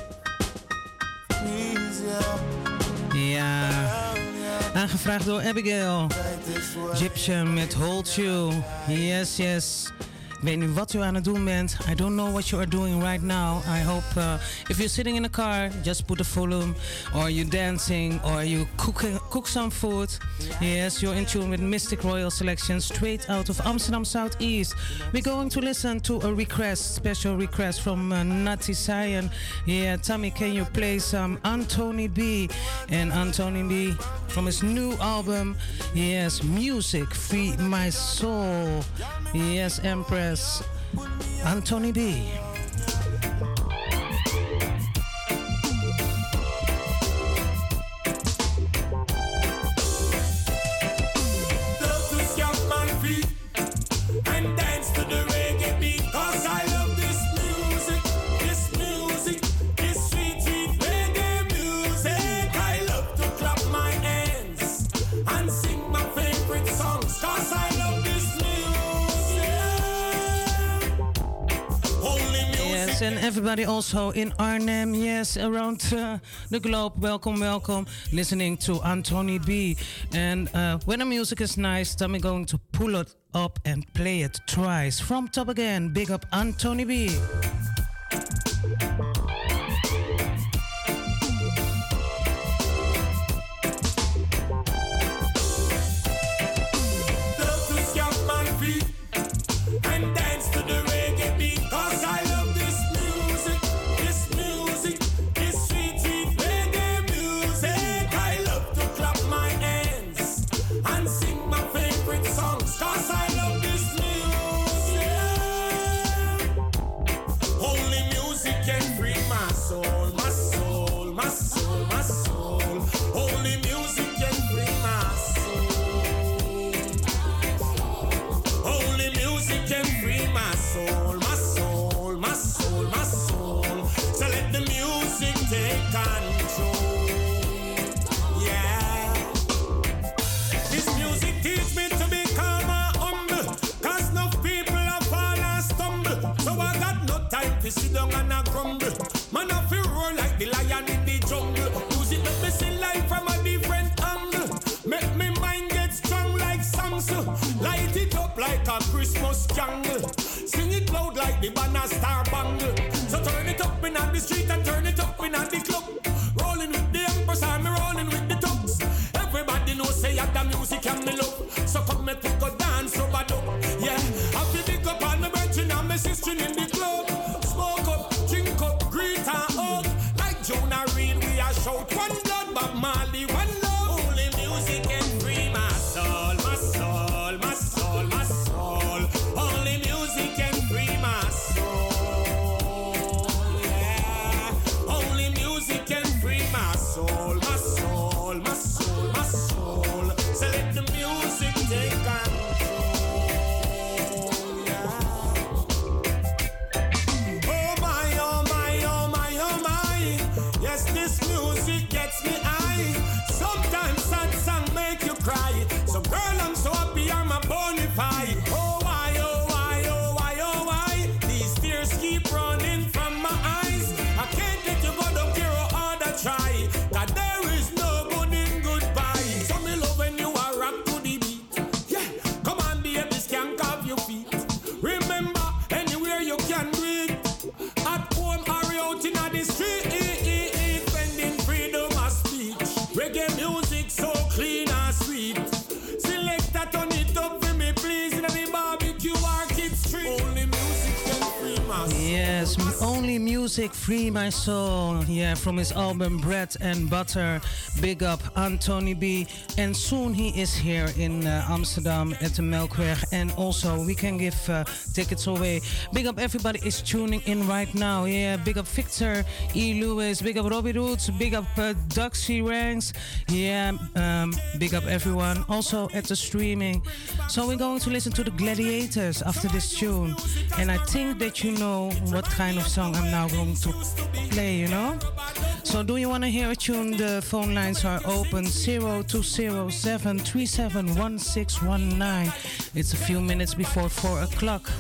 Squeeze ya. Ja, aangevraagd door Abigail. Egyptian met Hold You. Yes, yes. Ik weet niet wat u aan het doen bent. I don't know what you are doing right now. I hope uh, if you're sitting in a car, just put the volume. Or you're dancing, or you cooking, cook some food. Yes, you're in tune with Mystic Royal Selection straight out of Amsterdam Southeast. We're going to listen to a request, special request from uh, Natty Sion. Yeah, Tommy, can you play some Anthony B? And Anthony B from his new album, yes, Music Free My Soul. Yes, Empress. Anthony B. Love to stamp my feet and dance to the reggae beat. Cause I love this music, this music, this sweet, sweet reggae music. I love to clap my hands and sing my favorite songs. Cause I love this music. Yes, and everybody also in Arnhem, yes, around uh, the globe. Welcome, welcome. Listening to Anthony B. And uh, when the music is nice, then we're going to pull it up and play it twice. From top again, big up Anthony B. Love to stamp my feet and dance to the reggae beat. Cause I love this music, this music, this sweet, sweet reggae music. I love to clap my hands and sing my favorite songs. Cause I love this music. Only music can free my soul, my soul, my soul, my soul. Only music can free my soul. Only music can free my soul, my soul, my soul, my soul. So let the music take control. Yeah. This music teach me to be calm and humble. Cause no people have fall and stumble. So I got no time to sit down and a grumble. Man, I feel roar like the lion in the jungle. Use it let me see life from a different angle. Make me mind get strong like Samsung. Light it up like a Christmas candle. Sing it loud like the banner star bangle. So turn it up in on the street and turn it up in on the club. Rolling with the Empress, I'm rolling with the tubs. Everybody knows say that the music and me love. So come me pick a dance over up. Yeah, I feel big up on my virgin and my sister in the club. Smoke up, drink up, greet and hug. Like Jonah Reed, we are shout one blood, Bob Marley, one love. Only music can free my soul. Yes, Only Music Free My Soul. Yeah, from his album Bread and Butter. Big up Anthony B. And soon he is here in uh, Amsterdam at the Melkweg. And also we can give uh, tickets away. Big up everybody is tuning in right now. Yeah, big up Victor E. Lewis. Big up Robbie Roots. Big up uh, Duxie Ranks. Yeah, um, big up everyone. Also at the streaming. So we're going to listen to the Gladiators after this tune. And I think that you know what kind of song I'm now going to play, you know? So do you want to hear a tune? The phone lines are open zero two zero seven three seven one six one nine. It's a few minutes before four o'clock.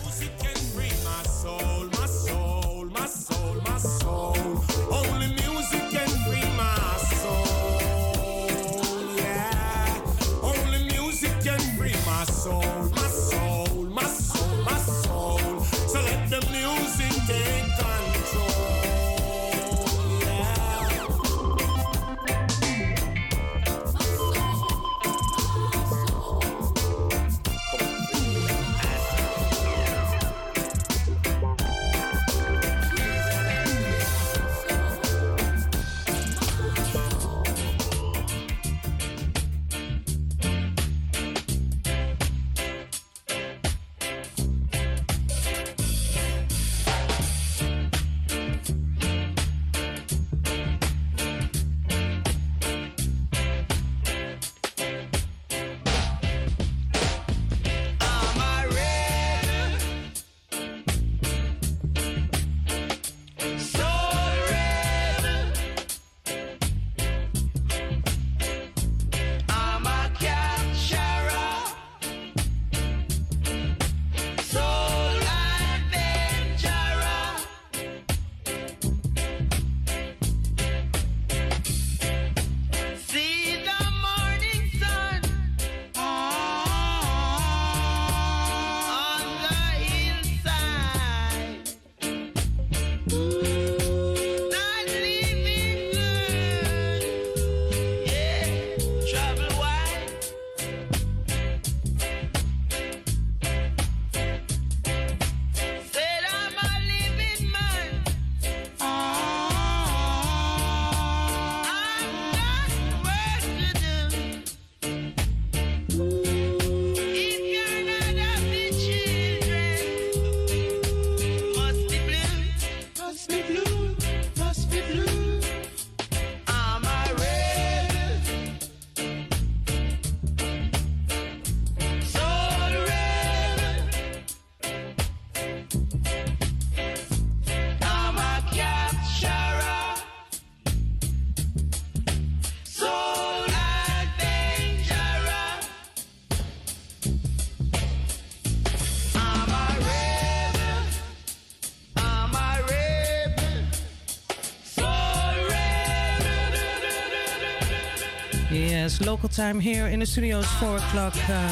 Yes, local time here in the studio is four o'clock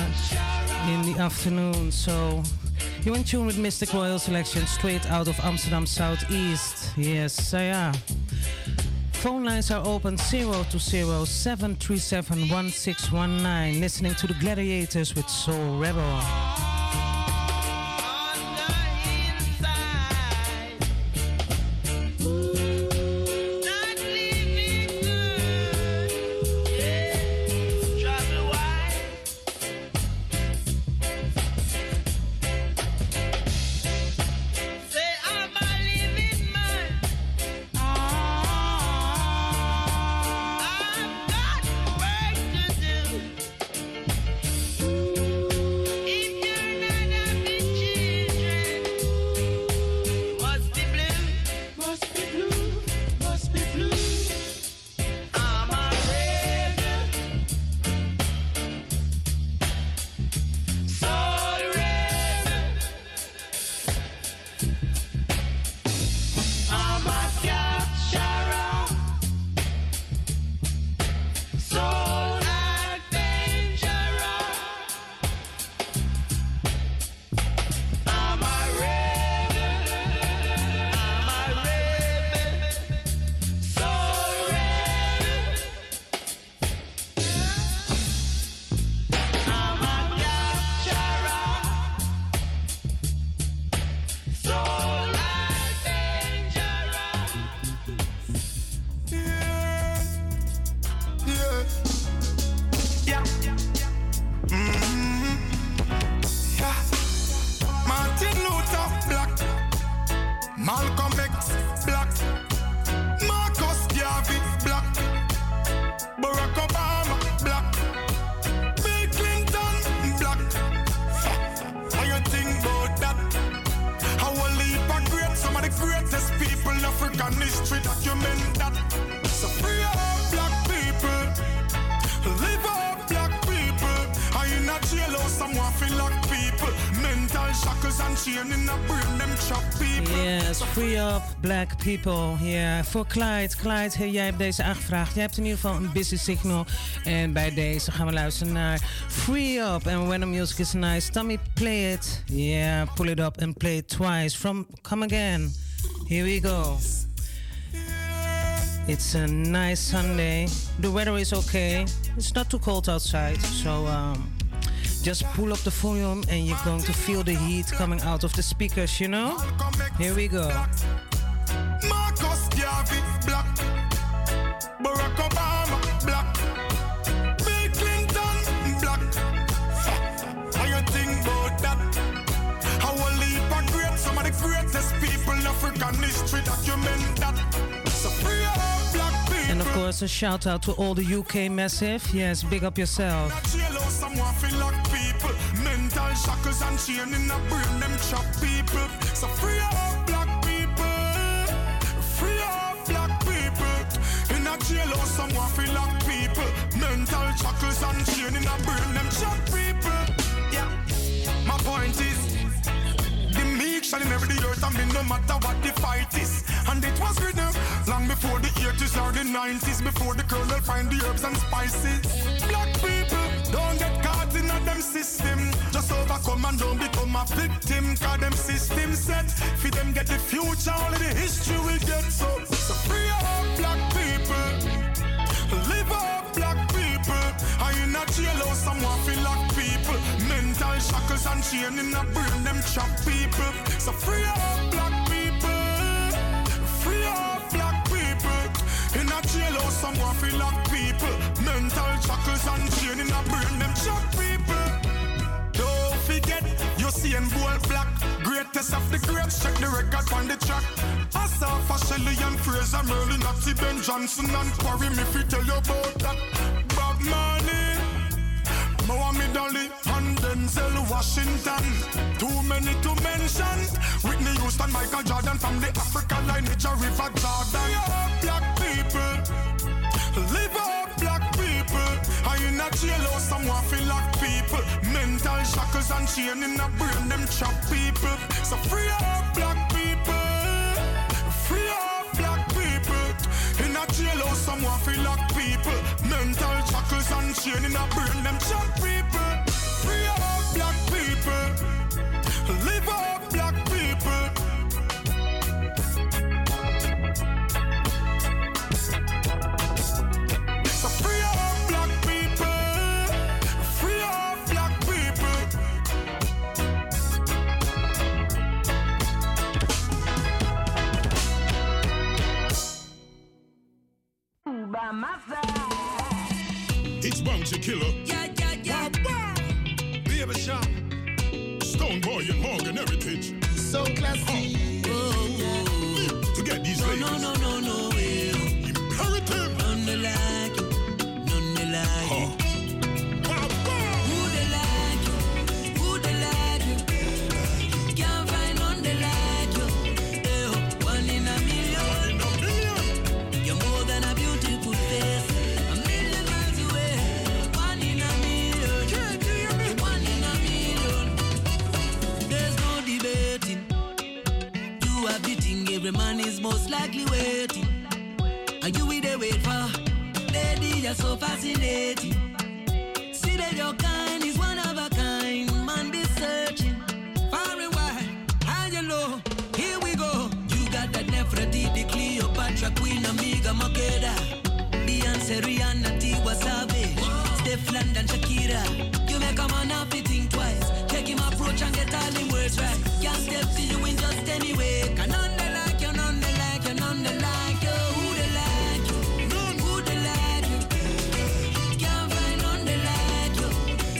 uh, in the afternoon. So you're in tune with Mystic Royal Selection straight out of Amsterdam Southeast. Yes, so yeah. Phone lines are open zero two zero seven three seven one six one nine. Listening to the Gladiators with Soul Rebel. If you African history document that. So free up black people, live up black people. I in a jailhouse, someone feel like people. Mental shackles and chain in a brain, them chop people. Yes, free up black people. Ja, yeah. Voor Clyde. Clyde, hey, jij hebt deze aangevraagd. Jij hebt in ieder geval een busy signal. En bij deze gaan we luisteren naar Free Up. And when the music is nice, Tommy, play it. Yeah, pull it up and play it twice. From Come Again. Here we go. It's a nice Sunday. The weather is okay. It's not too cold outside. So um, just pull up the volume and you're going to feel the heat coming out of the speakers, you know? Here we go. Marcus Garvey, black. Barack Obama, black. Bill Clinton, black. How you think about that? How a leap of great, some of the greatest people in African history document that. So free up black people. And of course, a shout out to all the U K massive. Yes, big up yourself. Someone feel like people. Mental shackles and chain in a brain, them chop people. So free up black people. Free up black people. In a jailhouse, someone feel like people. Mental shackles and chain in a brain, them chop people. Yeah. My point is, the meek shall inherit the earth, I mean no matter what the fight is. And it was written long before the eighties or the nineties, before the colonel find the herbs and spices. Black people, don't get caught in a them system. Just overcome and don't become a victim. Cause them system set, for them get the future, only the history will get. So, so free up black people, live up black people. I in a jailhouse, someone feel like people. Mental shackles and chain in a brain, them chop people. So free up black people, free up black people. In a jailhouse, someone feel like people. Mental shackles and chain in a brain, them chop people. Don't forget, you see and bold black. Greatest of the greats, check the record on the track. Asafa, Shelley and Fraser, Merlin, Natty, Ben Johnson and Quarry, me fi tell you about that. Bob Marley, Muhammad Ali and Denzel Washington. Too many to mention. Whitney Houston, Michael Jordan from the African lineage, River Jordan. Black people, live up black people. I in a jailhouse, someone feel like people. Mental shackles and chain in a brain, them chop people. So free up black people, free up black people. In a jailhouse, someone feel like people. Mental shackles and chain in a brain, them chop people. Free up black people, live up black people. So free up black people, free up black people. By my side. It's Bounty Killer. Yeah, yeah, yeah. Baby Shop. Stone Boy and Morgan Heritage. So classy. Oh, oh. To get these no, ladies. No, no, no, no, no. Imperative. None they like you. None they like you. Huh. Who they like you? Who they like you? Can't find none they like you. Eh, oh, one in a million. One in a million. You're more than a beautiful face. A million miles away. One in a million. You're one in a million. There's no debating. You are beating every man is most likely waiting. Are you with the wait for? Lady, you're so fascinating. See that your kind is one of a kind. Man be searching far and wide, high and low. Here we go. You got that Nefertiti, Cleopatra, Queen Amiga, Makeda, Beyonce, Rihanna, Tiwa Savage, Steph London, Shakira. You make a man have to think twice. Take him approach and get all the words right. Can't step to you in just any way. Can none they like you, none they like you, none they like you. Who they like you? None. Who they like you? Can't find none they like you.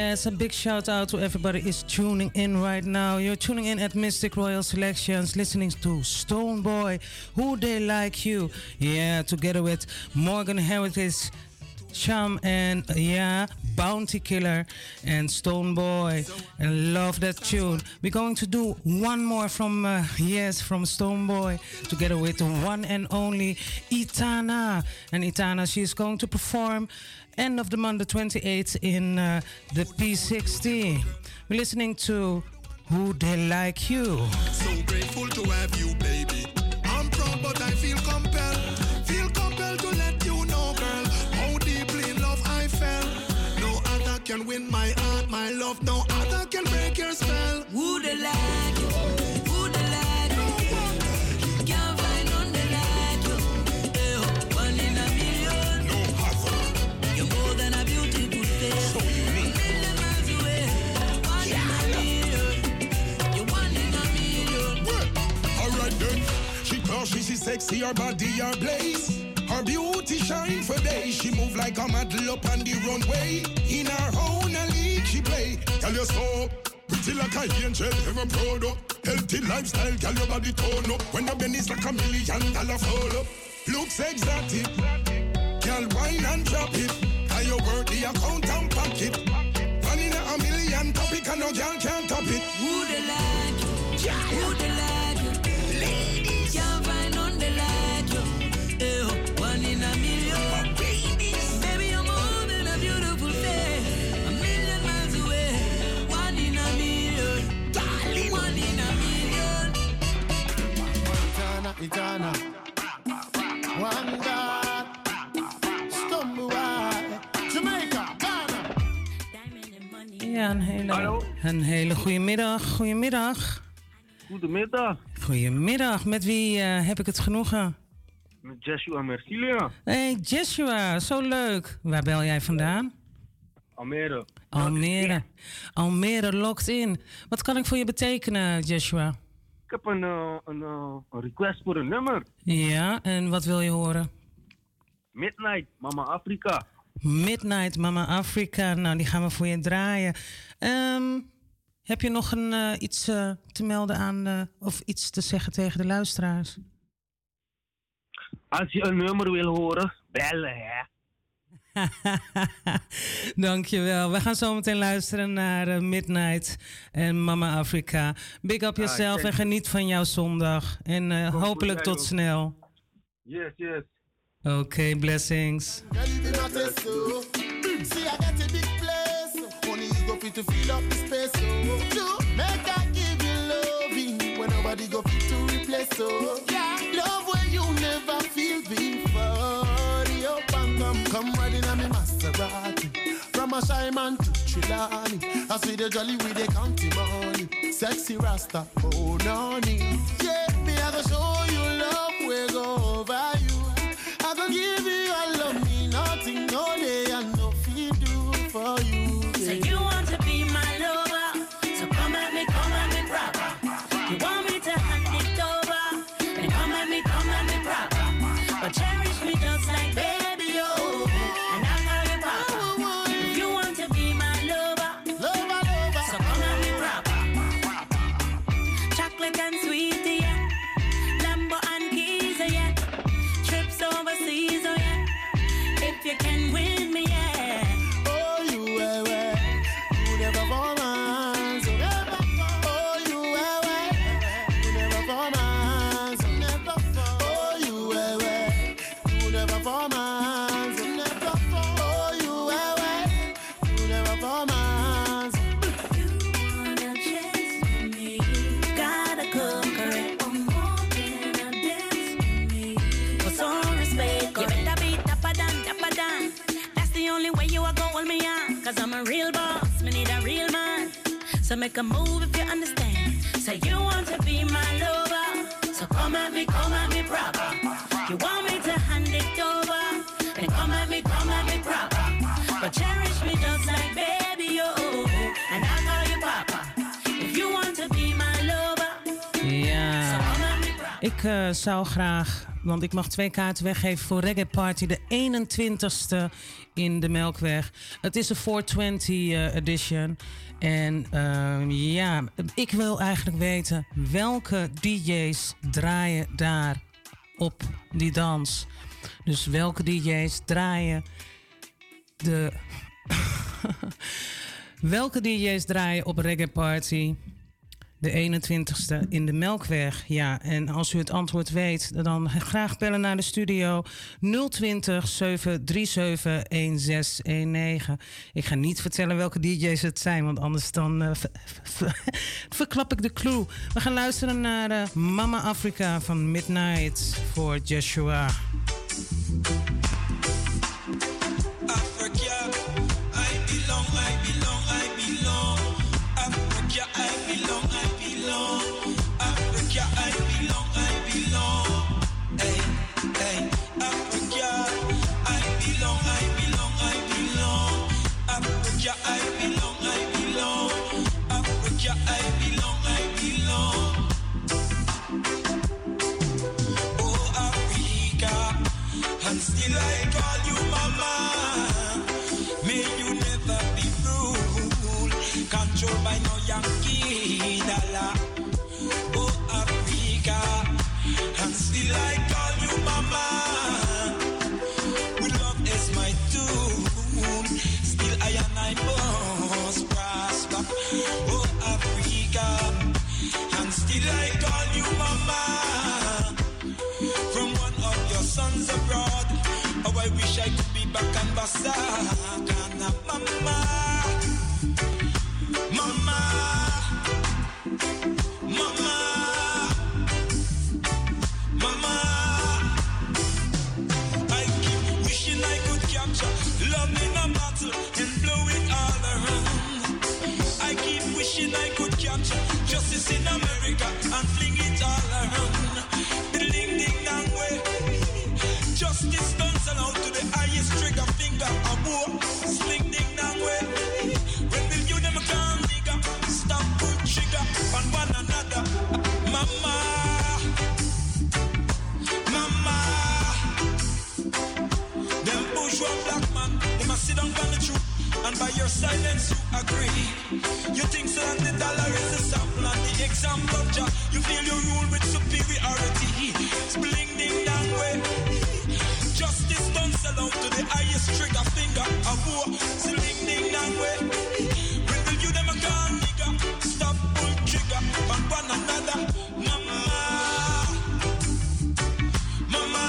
Yes, a big shout out to everybody is tuning in right now. You're tuning in at Mystic Royal Selections, listening to Stoneboy, Who They Like You. Yeah, together with Morgan Heritage, Sham, and yeah, Bounty Killer and Stoneboy. And love that tune. We're going to do one more from, uh, yes, from Stoneboy, together with the one and only Itana. And Itana, she's going to perform end of the month, the twenty-eighth, in uh, the P sixty. We're listening to Who They Like You. So grateful to have you, baby. I'm proud, but I feel compelled. Feel compelled to let you know, girl, how deeply in love I fell. No other can win my heart, my love. No other can break your spell. Who they like you? Who they like you? Can't find none they like you. Eh, one in a million. No hassle. You're more than a beautiful face. So unique. Million miles away. One in a million. You're one in a million. Alright then. She cause she see sexy, her body her blaze. Her beauty shine for days. She move like a model up on the runway. In her own league she play. Tell you so pretty like a angel, ever proud up. Healthy lifestyle, girl, your body tone up. When the bend is like a million dollar fall up. Looks exotic, girl, wine and drop it. How you work the account and pocket. One in a million topic and no girl can't top it. Who they like you? Who they like you? Ladies. Can't find none they like you. Eh, one in a million. Babies. Baby, you're more than a beautiful face. A million miles away. One in a million. Darling. One in a million. Itana, Itana. One God. Stoneboy. Jamaica, Ghana. Ja, een hele, een hele goede middag. Goedemiddag. Goedemiddag. Goedemiddag. Met wie uh, heb ik het genoegen? Met Joshua Mercilia. Hey Joshua, zo leuk. Waar bel jij vandaan? Almere. Almere. Almere locked in. Wat kan ik voor je betekenen, Joshua? Ik heb een, uh, een, uh, een request voor een nummer. Ja, en wat wil je horen? Midnight, Mama Afrika. Midnight, Mama Afrika. Nou, die gaan we voor je draaien. Um, heb je nog een, uh, iets uh, te melden aan, uh, of iets te zeggen tegen de luisteraars? Als je een nummer wil horen, bellen, hè. Dankjewel. We gaan zo meteen luisteren naar uh, Midnight en Mama Afrika. Big up yourself ah, en geniet van jouw zondag. En uh, hopelijk tot snel. Yes, yes. Oké, okay, blessings. Come riding on me Maserati. From a shy man to Trelawney. I see the jolly with the county money. Sexy Rasta, oh noni. Yeah, me I go show you love, we go over you. I go give you all of me, nothing, no day and no fee do for you. Yeah. So you want to be my lover? So come at me, come at me proper. You want me to hand it over? Then come at me, come at me proper. But cherish me just like baby. You can win me, yeah. Oh, you were well. You never for man, so never. Oh, you were well. You never for man, so never. Oh, you were well. You never for man, so never. Oh, you were well. You never for man, so you wanna chase me? Gotta conquer it. I'm more than a dance with me. For some respect, you better be tougher than. That's the only way you are gonna hold me on. Cause I'm a real boss, me need a real man. So make a move if you understand. So you want to be my lover. So come at me, come at me proper. You want me to hand it over. Then come at me, come at me proper. But cherish me just like baby, oh. And I'll call you papa. If you want to be my lover. Ja, so come at me proper. Ik uh, zou graag want ik mag twee kaarten weggeven voor Reggae Party de eenentwintigste in de Melkweg. Het is een vierhonderdtwintig uh, edition. En uh, ja, ik wil eigenlijk weten welke D J's draaien daar op die dans. Dus welke D J's draaien de... welke D J's draaien op Reggae Party de eenentwintigste in de Melkweg? Ja, en als u het antwoord weet, dan graag bellen naar de studio nul twintig, zeven drie zeven, een zes een negen. Ik ga niet vertellen welke D J's het zijn, want anders dan uh, ver, ver, verklap ik de clue. We gaan luisteren naar uh, Mama Africa van Midnight voor Joshua. Africa, I belong, I belong, I belong. Africa, I belong, I belong. Africa, I belong, I belong. Hey, hey, Africa, I belong, I belong, I belong. Africa, I belong, I belong. Africa, I belong, I belong. Oh, Africa, and still I call you mama. May you never be ruled, controlled by no Yankee dollar. Oh, Africa, and still I call you mama. With love is my tune, still I and I must prosper. Oh, Africa, and still I call you mama. From one of your sons abroad, oh, I wish I could be back and Basakana, mama, mama, mama, mama. I keep wishing I could capture love in a bottle and blow it all around. I keep wishing I could capture justice in America and fling it all around. Ding ding dang way. Justice done sell out to the highest trigger finger. A war, sling ding dang way. When will you them come, nigga? Stop, put trigger on one another. Mama, mama. Them bourgeois black man, they must sit down on the truth. And by your silence you agree. You think so that the dollar is the sample and the example of Jah. You feel you rule with superiority. Spling ding dang way. Justice done sell out to the highest trigger finger. A war, sling ding dang way. When will you them a gun, nigga? Stop, pull trigger on one another. Mama, mama.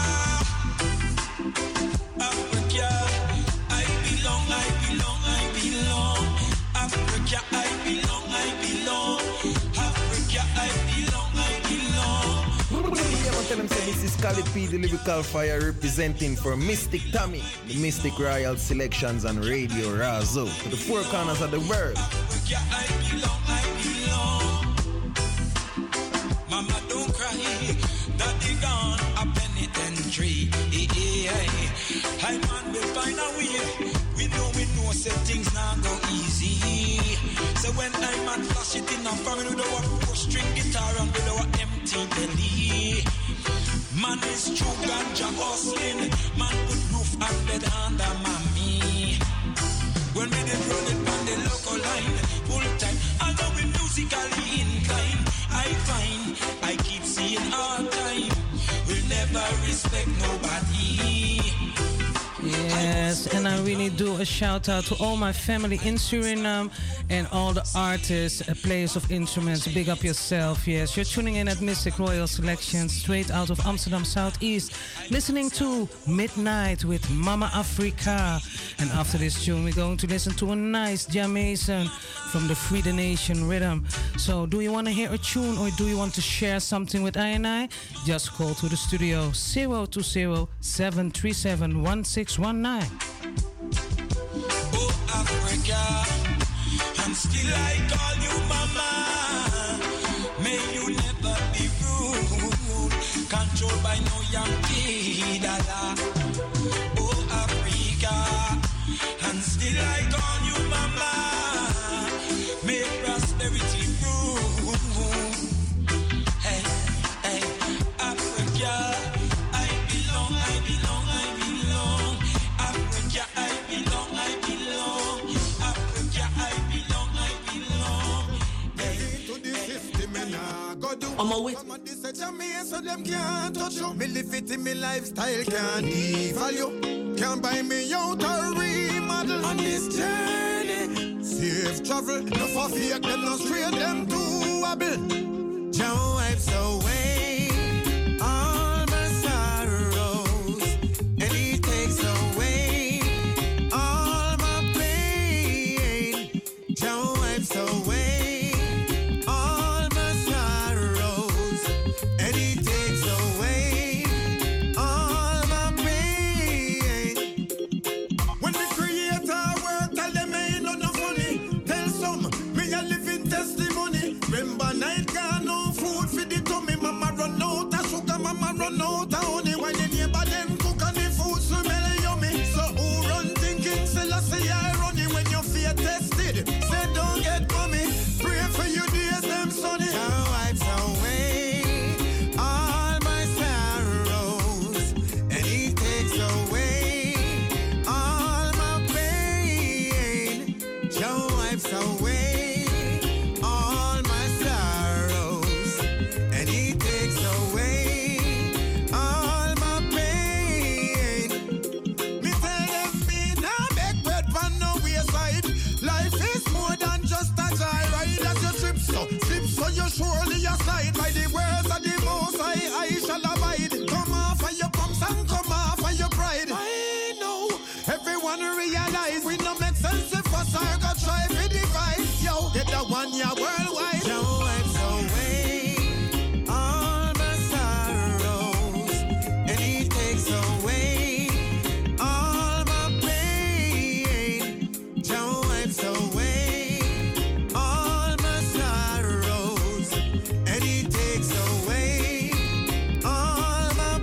Africa, I belong, I belong, I belong. Africa, I belong, I belong. Africa, I belong, I belong. Yeah, man, tell them say this is Cali P, the lyrical fire representing for Mystic Tommy, the Mystic Royal Selections on Radio Razo, to the four corners of the world. Africa, I belong, I belong. Mama, don't cry. Daddy gone a penitentiary. I man will find a way. We know we know say things now go easy. So when I man flash it in a family with our four string guitar and with our empty belly. Man is true ganja hustling. Man put roof and bed under mommy. When we did run it on the local line, full time, although we musically inclined, I find I keep seeing all time. We'll never respect nobody. Yes, and I really do a shout out to all my family in Suriname and all the artists, uh, players of instruments. Big up yourself. Yes, you're tuning in at Mystic Royal Selections, straight out of Amsterdam Southeast, listening to Midnight with Mama Africa. And after this tune, we're going to listen to a nice Jamaican from the Free the Nation rhythm. So, do you want to hear a tune or do you want to share something with I and I? Just call to the studio zero two zero, seven three seven, one six one nine. Oh, Africa, and still I call you mama. May you never be ruled, controlled by no Yankee dollar. Oh, Africa, and still I call you mama. May prosperity rule. Hey, hey, Africa. I'm a wit. Somebody say to me, so them can't touch you. Me live it in me lifestyle, can't devalue. Can't buy me out or remodel on this journey. Safe travel, no for fake, them no straight, them too wobble. John wipes away all my sorrows, and he takes away all my pain. John wipes away all my sorrows, and he takes away all my pain. When the Creator work, tell them ain't no funny. Tell some, me a living testimony. Remember night gone, no food for the tummy. Mama run out of sugar, mama run out of honey. When the neighbor them cook and the food smell yummy. So who run thinking, say I say I run it when your fear tested. Say don't get mommy, pray for you days them sunny. Jah wipes away all my sorrows, and he takes away all my pain. Jah wipes away all my sorrows, and he takes away all my pain. Me tell them me nah make bread from no wayside. Life is more than just a joyride. As you trip so, slip so you surely aside. By the words of the Most High, I shall abide. Come off of your pumps and come off of your pride. I know everyone realize we no make sense if us are gonna try to divide. Yo, get the one year worldwide. Jah wipes away all my sorrows, and he takes away all my pain. Jah wipes away all my sorrows, and he takes away all my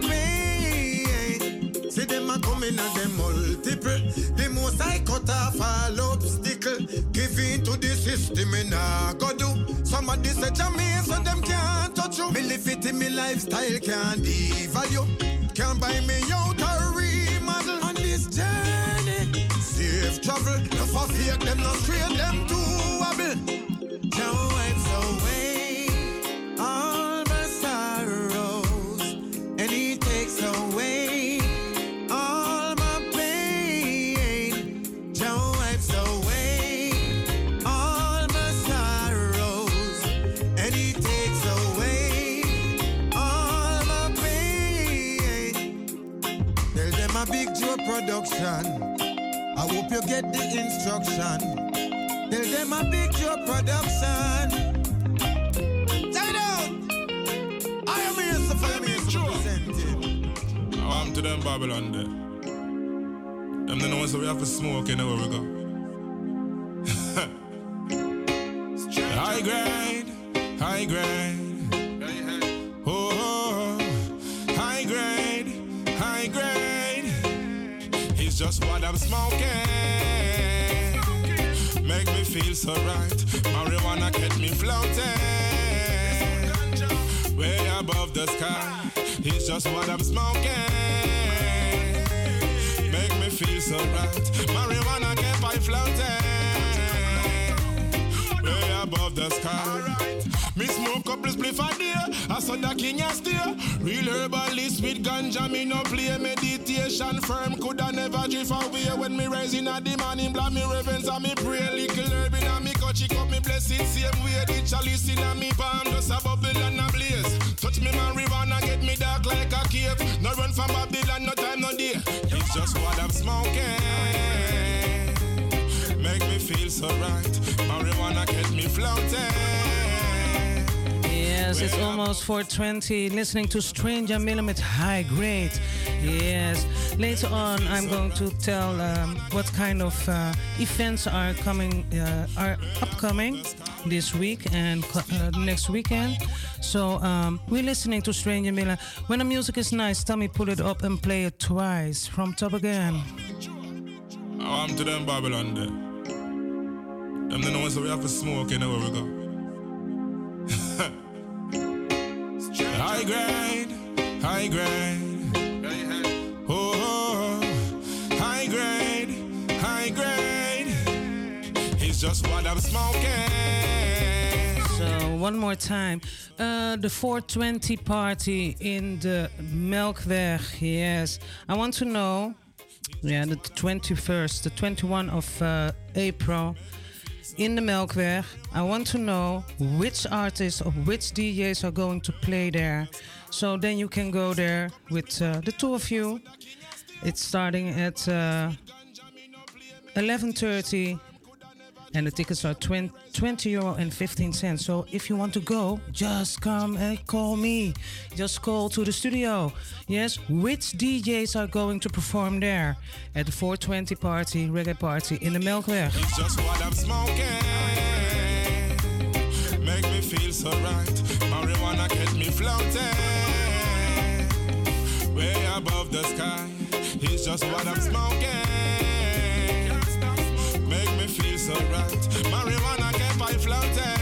pain. See them a coming and them multiple. The most I cut off all obstacle. Give in to the system and I go do. Somebody say to me, so them can't touch you. Me live it in me lifestyle, can't devalue. Can't buy me out or remodel on this journey. Safe travel, no for fake, them no straight, them too wobble. Jah wipes away all my sorrows, and he takes away all my pain. Jah wipes away all my sorrows, and he takes away all my pain. Tell them a Big Joe production. I hope you get the instruction. Tell them a Big Joe production. Check it out. I am here so for me to present it. I'm to them Babylon there. Them the ones that we have to smoke anywhere we go. High grade, high grade. Oh, oh, high grade, high grade. It's just what I'm smoking. Make me feel so right. Marijuana get me floating. Way above the sky. It's just what I'm smoking. Make me feel so right. Marijuana get me floating. Way above the sky. Me smoke couple spliff a day. I saw the king a steer. Real herbalist with ganja. Me no play meditation firm. Coulda never drift away when me rise in a the morning. Blah me reverence and me pray. Little herb in a me cut. Chick up me bless it same way. The chalice in a me palm. Just a bubble and a blaze. Touch me marijuana get me dark like a cave. No run from Babylon. No time no day. It's just what I'm smoking. Make me feel so right. Marijuana get me floating. Yes, it's almost four twenty. Listening to Stranger Miller with High Grade. Yes. Later on, I'm going to tell um, what kind of uh, events are coming, uh, are upcoming this week and uh, next weekend. So um, we're listening to Stranger Miller. When the music is nice, tell me pull it up and play it twice from top again. I'm to them Babylon there. Them the ones that we have to smoke anywhere we go. High grade, high grade. Oh, oh, high grade, high grade. It's just what I'm smoking. So no. One more time. Uh, the four twenty party in the Melkweg. Yes. I want to know. Yeah, the twenty-first, the twenty-first of uh, April in the Melkweg. I want to know which artists or which D Js are going to play there. So then you can go there with uh, the two of you. It's starting at uh, eleven thirty. And the tickets are twenty euro and fifteen cents. So if you want to go, just come and call me. Just call to the studio. Yes, which D Js are going to perform there at the four twenty party, reggae party in the Melkweg? It's just what I'm smoking. Make me feel so right. Marijuana get me floating. Way above the sky. It's just what I'm smoking. Make me feel so right. Marijuana kept I floating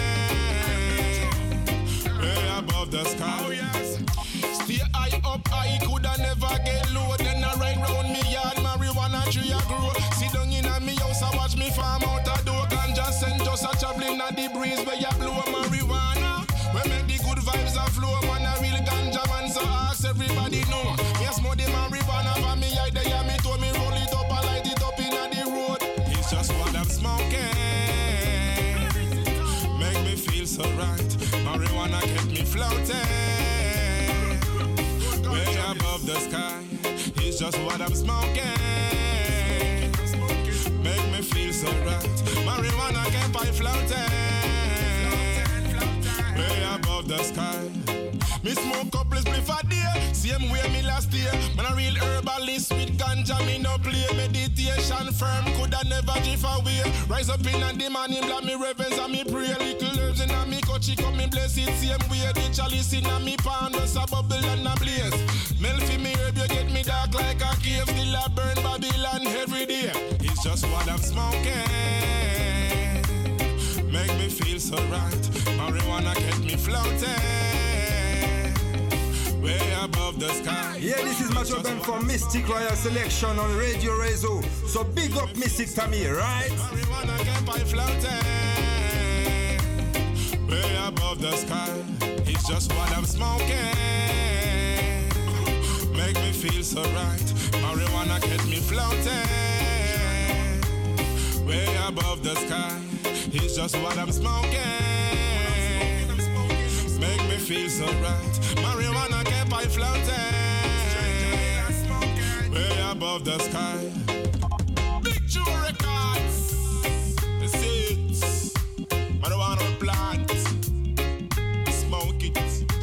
way above the sky. Oh yes. Stay high up, I coulda never get low. Then I ride round me yard, marijuana tree a grow. Sit down in a me house, I watch me farm out a door. Ganja scent just a traveling at the breeze where you blow marijuana. We make the good vibes a flow, man a real ganja man. So ask everybody know. Yes, more the marijuana for me, I there me told me roll it up, I light it up in a the road. It's just what I'm smoking. Make me feel so right. Marijuana kept me floating way above the sky. It's just what I'm smoking. Make me feel so right. Marijuana kept I floating way above the sky. Me smoke couple spliff a day, same way me last year. Man a real herbalist with ganja, me no play. Meditation firm, coulda never drift away. Rise up in the morning, black me reverence and me pray. Little herbs in a me coachy, come me bless it same way. The chalice in a me pan, just a bubble and a blaze. Melt for me herb, you get me dark like a cave. Still a burn Babylon every day. It's just what I'm smoking. Make me feel so right. Marijuana kept me floating way above the sky. Yeah, this is Macho Ben from Mystic Royal Selection on Radio Rezo. So big up Mystic Tammy, right? Marijuana kept I floating way above the sky. It's just what I'm smoking. Make me feel so right. Marijuana kept me floating way above the sky. It's just what I'm smoking. Make me feel so right. Marijuana kept I floating way above the sky. Big Joe Records. The seeds. Marijuana plant. Smoke it.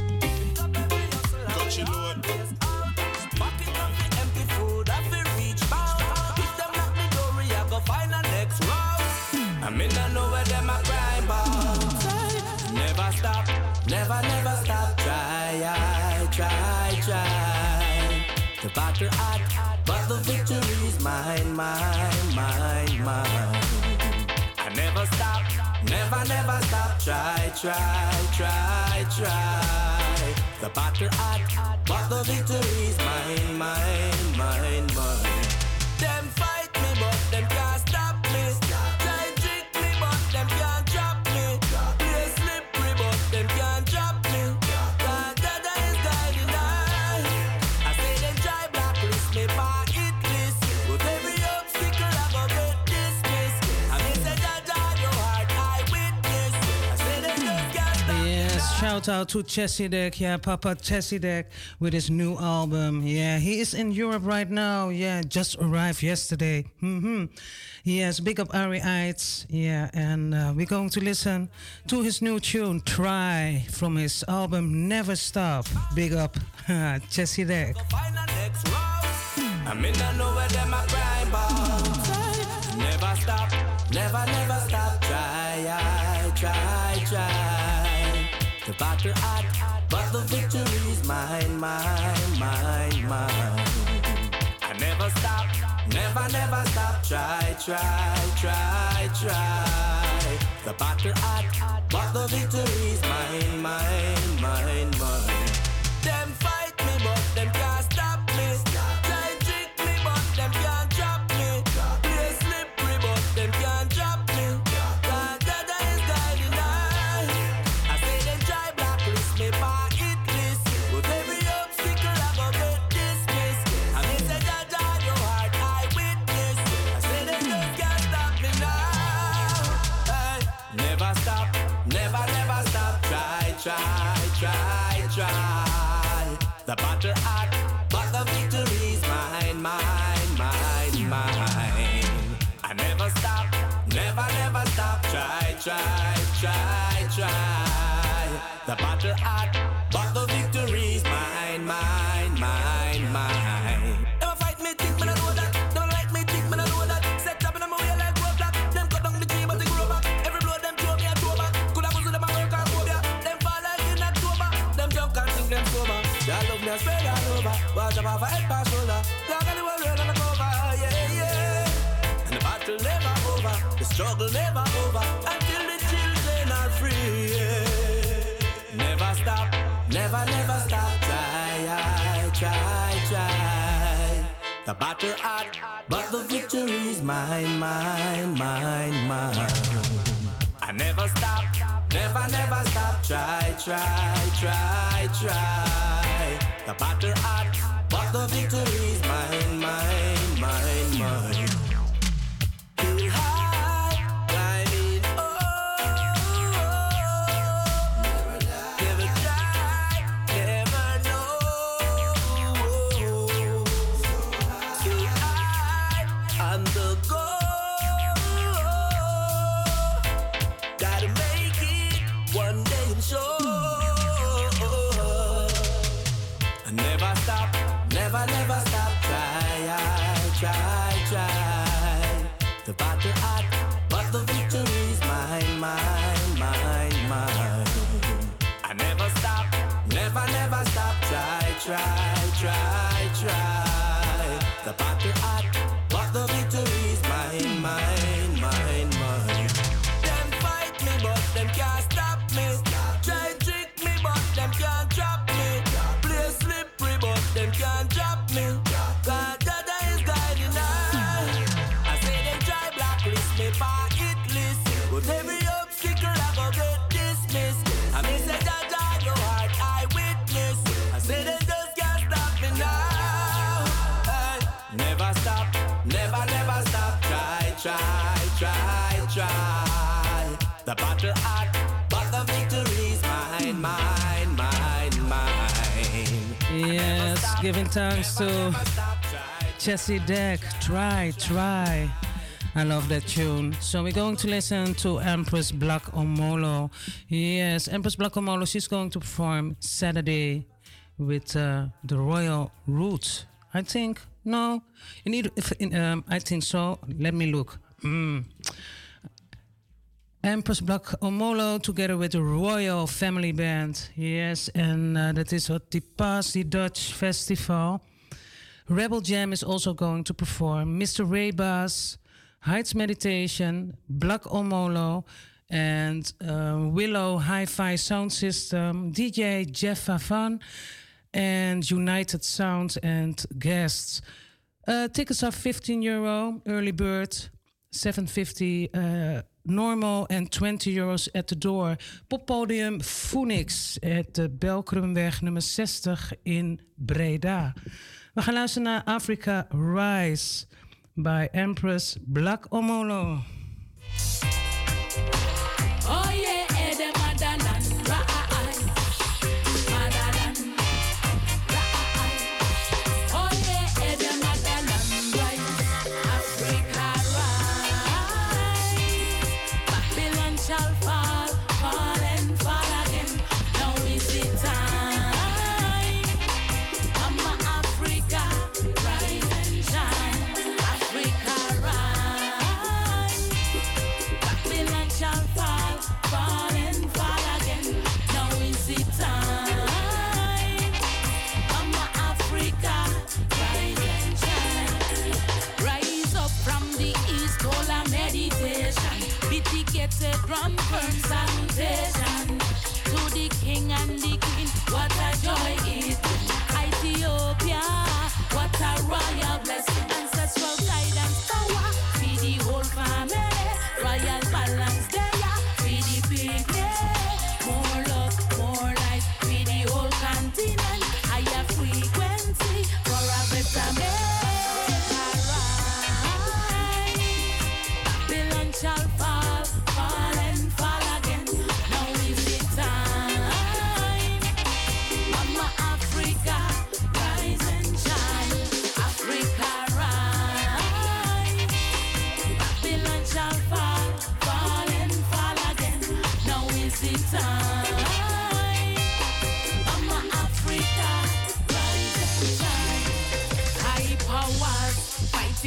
Got you load. Pocket of the empty food, I feel reach out. If them lock me door, I go find a next route. I mean, I know where them a cry about. Never stop, never, never stop. Try, I try, try. The battle hot, but the victory is mine, mine, mine, mine. I never stop, never, never stop. Try, try, try, try. The battle hot, but the victory is mine, mine, mine, mine. Them fight me, but them can't stop me. Try trick me, but them can't drop me. Play slippery, but them can't drop me. God, Dada is guiding I. I say them try blacklist me, but it list. With every obstacle, I go get dismissed. I mean, say Dada, your heart, I witness. I say them just can't stop me. Yes, shout out to Chesidek, yeah, Papa Chesidek with his new album. Yeah, he is in Europe right now. Yeah, just arrived yesterday. Mm-hmm. Yes, big up Ari Eitz. Yeah, and uh, we're going to listen to his new tune, Try, from his album Never Stop. Big up Chesidek. I mean, I know where them a cry about. Never stop, never, never stop. Try, I try, try. The battle hot, but the victory is mine, mine, mine, mine. I never stop, never, never stop. Try, try, try, try. The battle hot, but the victory is mine, mine, mine, mine. Them fight me, but them can't stop me. Try trick me, but them can't drop me. Play slippery, but them can't drop me. God, Dada is guiding I. I The battle hot, but the victory's mine, mine, mine, mine. I never stop, never, never stop. Try, try, try, try. The battle hot, but the victory's mine, mine, mine, mine. Never fight me, think me, I know that. Never like me, think me, I know that. Set up in my way like roadblock. Them cut down the tree, but they grow back. Every blow them throw me a throw back. Could have put them a work and phobia. Them fall like in October. Them jump and think them sober. Y'all love me, I spread all over. Watch out for head past shoulder. Long as the world on the cover, yeah, yeah. And the battle never over, the struggle never over until the children are free. Yeah. Never stop, never, never stop. Try, try, try. The battle hot, but the victory's mine, mine, mine, mine. I never stop, never, never stop. Try, try, try, try. The battle hot, but the victory's mine, mine, mine, mine. Feel high, climbing, oh, never try, never know. So high on the go. Gotta make it one day and show. Never stop, never, never stop. Try, try, try. The battle hot, but the victory's mine, mine, mine, mine. I never stop, never, never stop. Try, try, try, try. The battle hot, but the victory's mine, mine, mine, mine. Them fight me, but them can't stop me. Try trick me, but them can't trap me. Play slippery, but them can't drop me. God, Dada is guiding us. I say them try blacklist me for hit list, but every obstacle I go get dismissed. I may say Dada, your heart I witness. I say they just can't stop me now. Hey. Never stop, never, never stop. Try, try, try, try. The battle hot, but the victory's mine, mine, mine, mine. Yes, giving thanks to Jesse Deck. Try, try. I love that tune. So we're going to listen to Empress Black Omolo. Yes, Empress Black Omolo, she's going to perform Saturday with uh, the Royal Roots. I think, no, in either, if in, um, I think so. Let me look. Mm. Empress Black Omolo together with the Royal Family Band. Yes, and uh, that is at the Pasi Dutch Festival. Rebel Jam is also going to perform. Mister Ray Bass, Heights Meditation, Black Omolo, and uh, Willow Hi-Fi Sound System, D J Jeff Favan, and United Sound and guests. Uh, tickets are fifteen euro, early bird, seven fifty uh, normal and twenty euros at the door. Poppodium Phoenix at de Belkrumweg nummer zestig in Breda. We gaan luisteren naar Africa Rise bij Empress Black Omolo. Oh yeah, Ede Madalan, Ra'ai, Madalan, Ra'ai. Oh yeah, Ede Madalan, rise, Africa rise. Babylon shall fall, fall and fall again. Now is the time. Mama Africa, rise and shine. Africa rise. Babylon shall fall, fall and fall again. Now is the time. Mama Africa, rise and shine. Rise up from the east, call a meditation. Be ticketed from firm salutation. To the king and the queen, what a joy it is. Ethiopia, what a royal blessing. Ancestral guidance, power, for the whole family. Royal balance there, for the picnic. More love, more life, for the whole continent. Higher frequency, for a better man. Babylon shall fall, fall and fall again. Now is the time.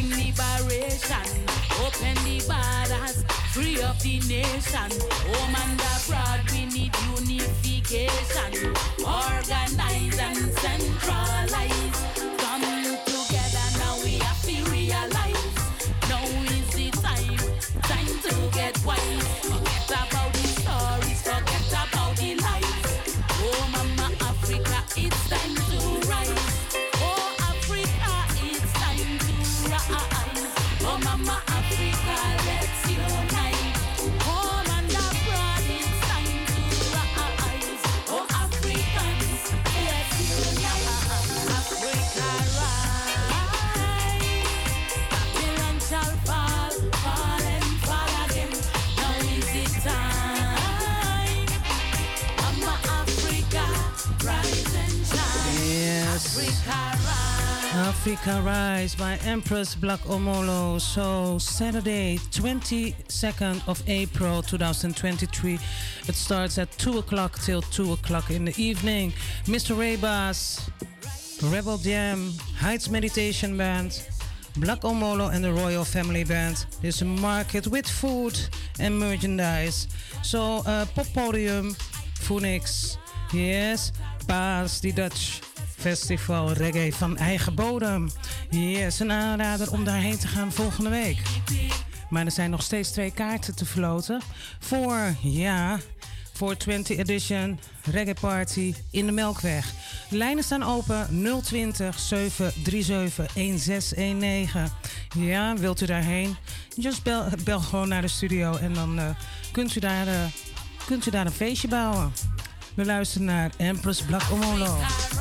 bring liberation. Open the borders, free up the nation. Home and abroad, we need unification. Organize and centralize. Come together now, we have to realize. Now is the time, time to get wise. Forget about the stories, forget about the lies. Oh, Mama Africa, it's time to rise. Oh, Africa, it's time to rise. Oh, Mama Africa, let's unite. Home and abroad, it's time to rise. Oh, Africans, let's unite. Africa, rise. Babylon shall fall, fall and fall again. Now is the time. Mama Africa, rise and shine. Yes. Africa, rise. Africa Rise by Empress Black Omolo. So Saturday, twenty-second of April twenty twenty-three. It starts at two o'clock till two o'clock in the evening. Mister Rebus, Rebel Jam, Heights Meditation Band, Black Omolo and the Royal Family Band. There's a market with food and merchandise. So uh, Poppodium, Phoenix, yes, Paas, die Dutch Festival Reggae van eigen bodem. Yes, een aanrader om daarheen te gaan volgende week. Maar er zijn nog steeds twee kaarten te verloten voor, ja, voor twintig edition Reggae Party in de Melkweg. De lijnen staan open nul twintig, zeven drie zeven, een zes een negen. Ja, wilt u daarheen? Just bel, bel gewoon naar de studio en dan uh, kunt, u daar, uh, kunt u daar een feestje bouwen. We luisteren naar Empress Black Omolo.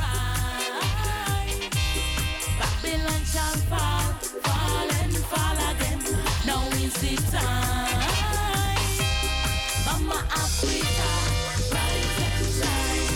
Babylon shall fall, fall and fall again. Now is the time. Mama Africa, rise and shine.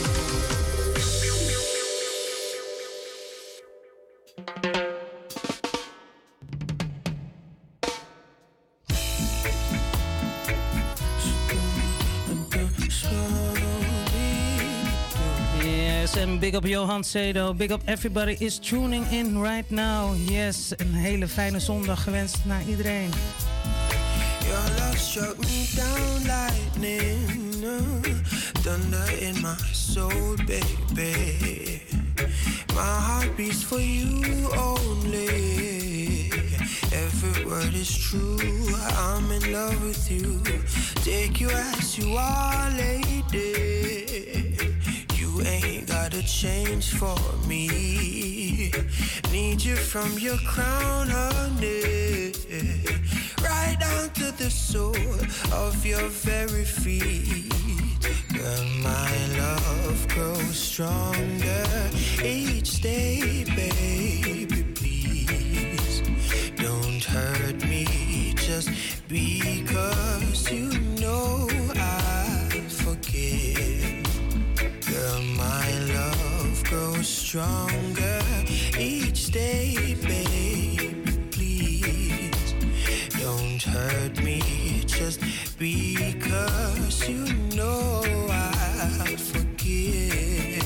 Yes, and big up Johan Sedo. Big up everybody is tuning in right now. Yes, een hele fijne zondag gewenst naar iedereen. Your love struck me down lightning, uh, thunder in my soul, baby. My heart beats for you only. Every word is true. I'm in love with you. Take you as you are, lady. You ain't gotta change for me. Need you from your crown, honey, right down to the sole of your very feet. Girl, my love grows stronger each day, baby. Please don't hurt me just because you know I forgive. Girl, my love grows stronger each day, baby. Please don't hurt me just because you know I forgive.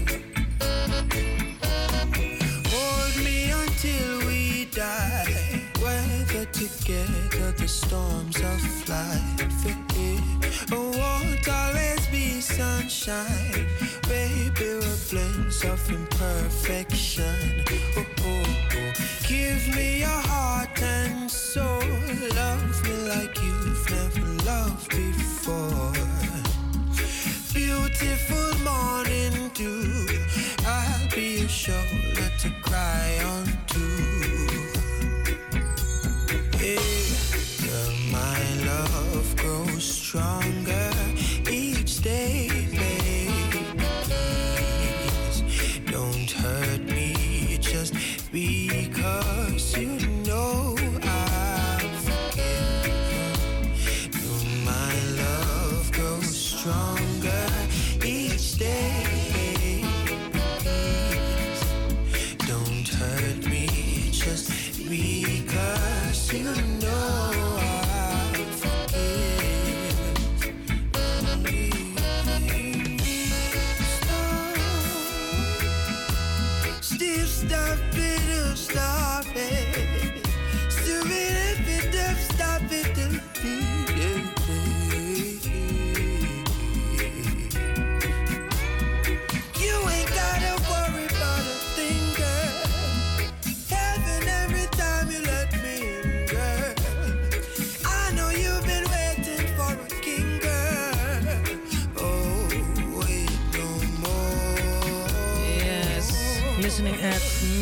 Hold me until we die, weather together the storms of life. It won't always be sunshine, baby, we're blends of imperfection. Oh, oh, oh. Give me your heart and soul, love me like you've never loved before. Beautiful morning dew, I'll be your shoulder to cry on to. Yeah. Girl, my love grows stronger each day, baby. Please don't hurt me just because you know I forgive. Girl, my love grows stronger each day, please don't hurt me just because you know I forgive. Still stop it, stop it.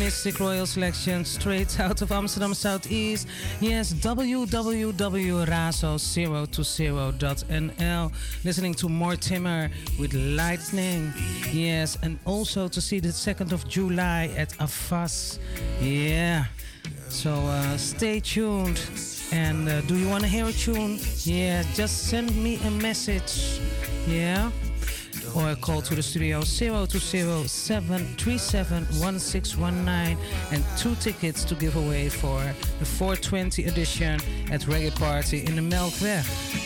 Mystic Royal Selection straight out of Amsterdam Southeast. Yes, w w w dot razo zero two zero dot n l. Listening to Mortimer with Lightning. Yes, and also to see the second of July at Afas. Yeah. So uh, stay tuned. And uh, do you want to hear a tune? Yeah, just send me a message. Yeah. Or call to the studio zero two zero, seven three seven, one six one nine and two tickets to give away for the four twenty edition at Reggae Party in the Melkweg.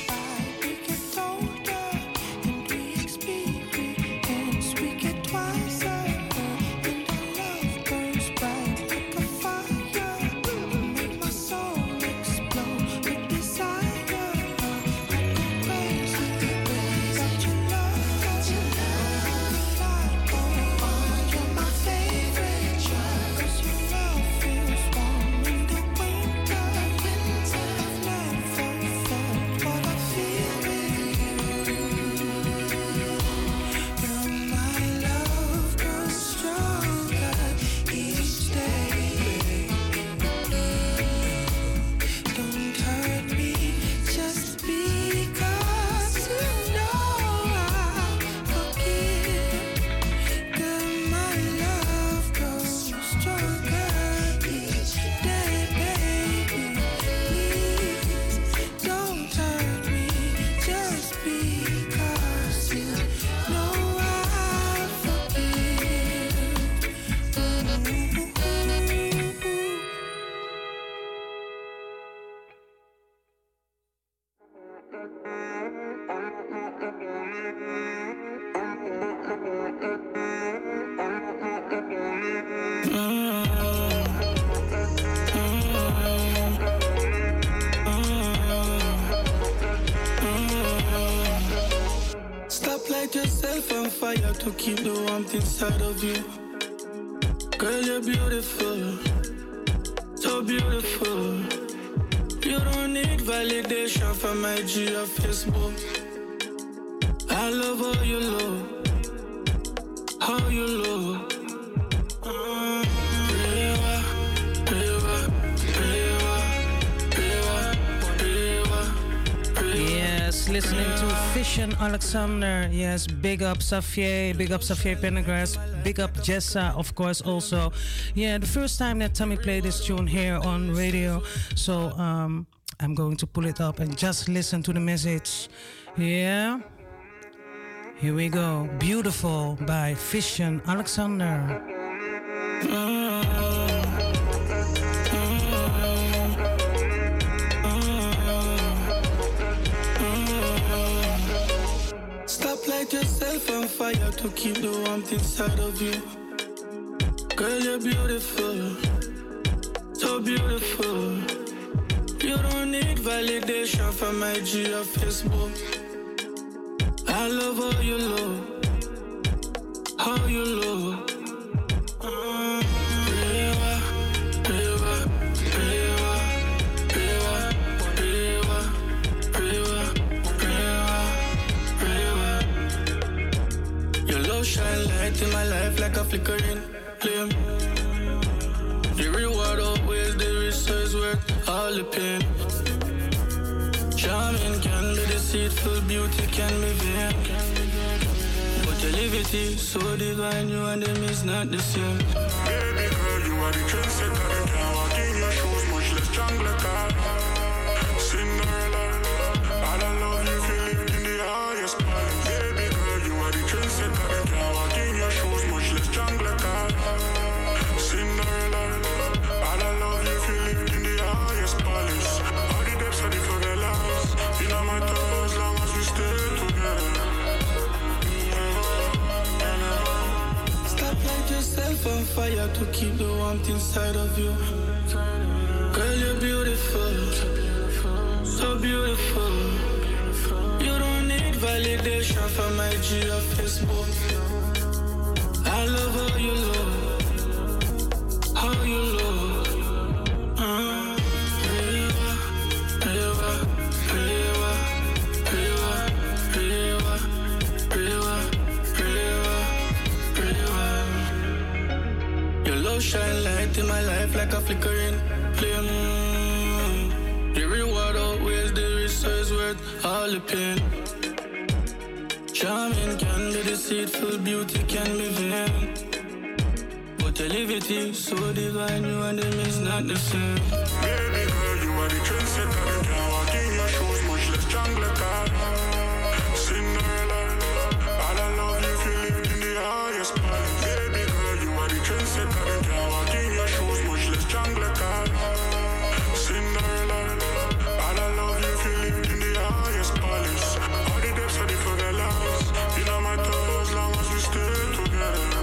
To keep the warmth inside of you. Girl, you're beautiful, so beautiful. You don't need validation from I G or Facebook. I love how you look, how you look. Uh, rewa, rewa, rewa, rewa, rewa, rewa. Yes, listening to Fission Alexander. Yes, big up Xavier, big up Xavier Pendergrass, big up Jessa, of course, also. Yeah, the first time that Tommy played this tune here on radio. So um, I'm going to pull it up and just listen to the message. Yeah. Here we go. Beautiful by Fission Alexander. Light yourself on fire to keep the warmth inside of you. Girl, you're beautiful, so beautiful. You don't need validation from I G or Facebook. I love how you look, how you look. Uh, rewa, rewa, rewa, rewa, rewa, rewa, rewa, rewa. Your love shine light in my life like a flickering flame. The reward always the research worth all the pain. Charming can be deceitful, beauty can be vain. But your levity so divine, you and them is not the same. Baby girl, you are the trendsetter. You can't walk in your shoes, much less jungle car. Cinderella, all I love you feel lived in the highest part. Baby girl, you are the trendsetter. You can't walk in your shoes, much less jungle car. Cinderella, all I love you feel lived in the highest palace. All the depths of the favelas, it don't matter as long as we stay together. Stop light yourself on fire to keep the warmth inside of you. Girl, you're beautiful, so beautiful. You don't need validation from I G or Facebook. I love how you look, how you look. Uh, rewa, rewa, rewa, rewa, rewa, rewa, rewa, rewa. Your love shine like flickering flame. The reward outweighs the risk, so it's worth all the pain. Charming can be deceitful, beauty can be vain. But the liberty so divine, you and them is not the same. Baby girl, you are the trendsetter. You can't walk in your shoes, much less jungle car. Cinderella, all I love you feel lived in the highest part. Baby girl, you are the trendsetter. You can't walk in your shoes, much less jungle car. Cinderella, all I love you feel lived in the highest palace. All the depths of the favelas, you know my toes as long as we stay together.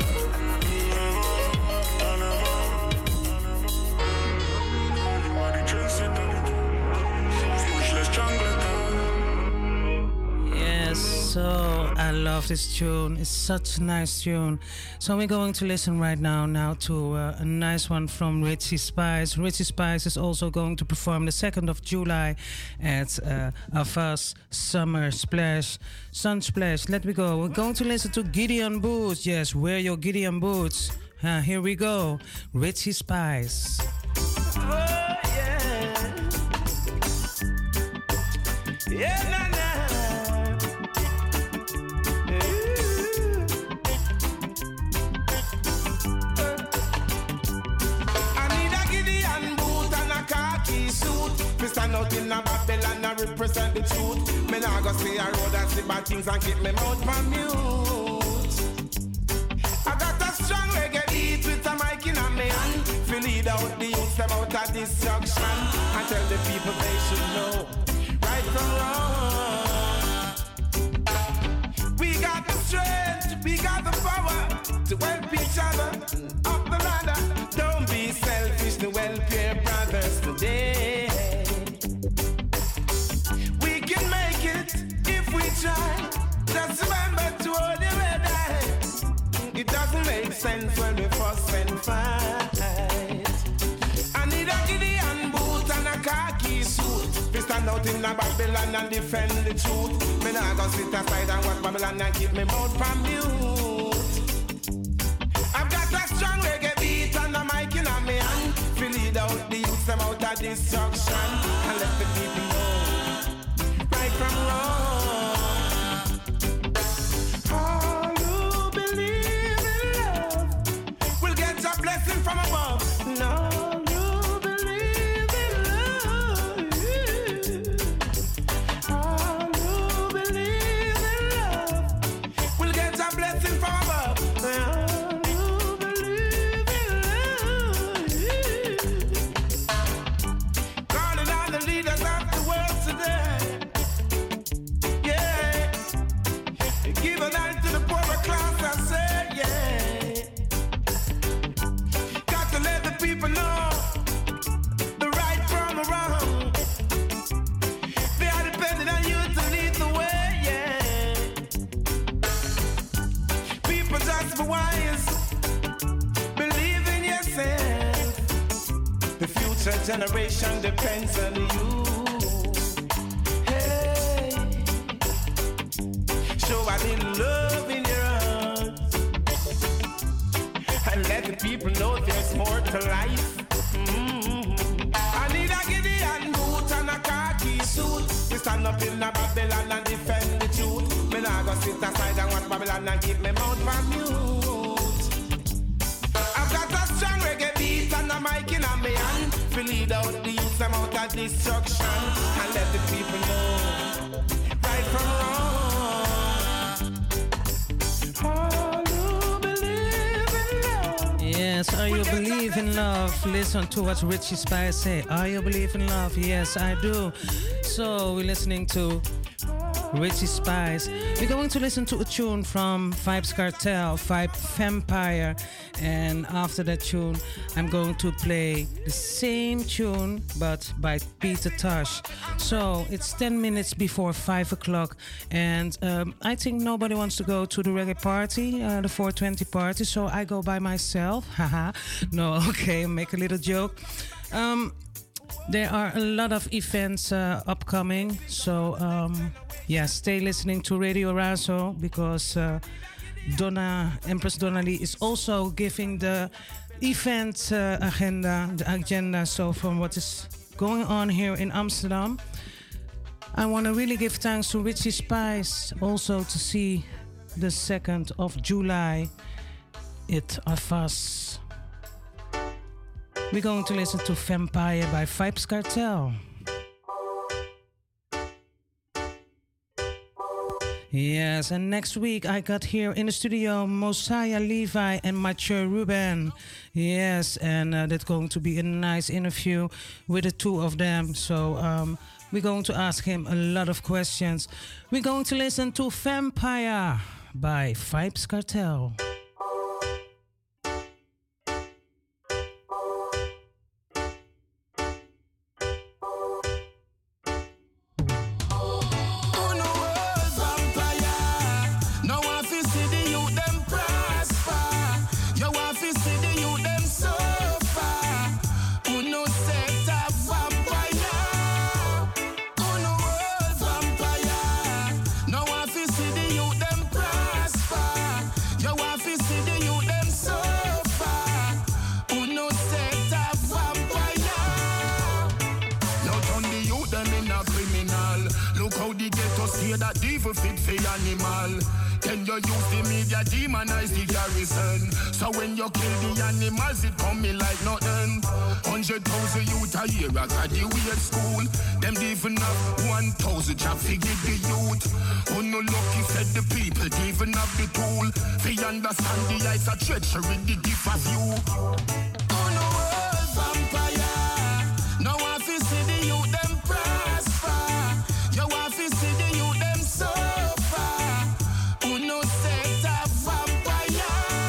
Yes, so I love this tune. It's such a nice tune. So we're going to listen right now now to uh, a nice one from Richie Spice. Richie Spice is also going to perform the second of July at uh, Avas Summer Splash, Sun Splash. Let me go. We're going to listen to Gideon Boots. Yes, wear your Gideon Boots. Uh, here we go. Richie Spice. Oh, yeah. Yeah, nah, nah. Stand out in a Babylon and represent the truth. Me nah go stay a road and see bad things and keep me mouth from mute. I got a strong reggae beat with a mic in a me hand. Feel lead out the youth them out of destruction and tell the people they should know right from wrong. We got the strength, we got the power to help each other up the ladder. Don't be selfish to help your brothers today. Try. Just remember to hold your red eye. It doesn't make sense when we fuss and fight. I need a Gideon boot and a khaki suit. We stand out in a Babylon and defend the truth. Me nah go sit aside and watch Babylon and keep me mouth from mute. I've got a strong reggae beat and a mic in a me hand. Feel lead out the youths them out of destruction and let the people know right from wrong. Blessing from above. No, you believe in love. Oh, you believe in love. We'll get a blessing from above. Oh, you believe in love. Calling on the leaders of the world today. Yeah. Give a night to the poorer class, I said, yeah. People know the right from the wrong. They are depending on you to lead the way, yeah. People just be wise, believe in yourself. The future generation depends on you. Hey, show a little love in your heart and let the people know there's more to life. Mm-hmm. I need a Gideon boot and a khaki suit. We stand up in a Babylon and defend the truth. Me nah go sit aside and watch Babylon and keep me mouth from mute. I've got a strong reggae beat and a mic in a me hand. To lead out the youths them out of destruction and let the people know right from wrong. Yes, are you believe in love? Listen to what Richie Spice say. Are you believe in love? Yes, I do. So we're listening to Richie Spice. We're going to listen to a tune from Vybz Kartel, Vibe Vampire. And after that tune, I'm going to play the same tune, but by Peter Tosh. So it's ten minutes before five o'clock. And um, I think nobody wants to go to the reggae party, uh, the four twenty party. So I go by myself. Haha. No, okay, make a little joke. Um, there are a lot of events uh, upcoming. So... Um, Yeah, stay listening to Radio Razo because uh, Donna, Empress Donna Lee is also giving the event uh, agenda, the agenda, so from what is going on here in Amsterdam. I want to really give thanks to Richie Spice also to see the second of July at Afas. We're going to listen to Vampire by Vybz Kartel. Yes, and next week I got here in the studio Mosiah Levi and Mathieu Ruben. Yes, and uh, that's going to be a nice interview with the two of them. So um, we're going to ask him a lot of questions. We're going to listen to Vampire by Vybz Kartel. That devil fit for animal. Then you use the media demonize the garrison. So when you kill the animals, it come me like nothing. Hundred thousand youth a year I graduate school. Them even have one thousand job figure the youth. Who no lucky said the people even have the tool. They understand the eyes of treachery, the gift of you. Oh no, world vampire. Now I feel see the youth them prosper. You want to see the youth them suffer. Who no set a vampire?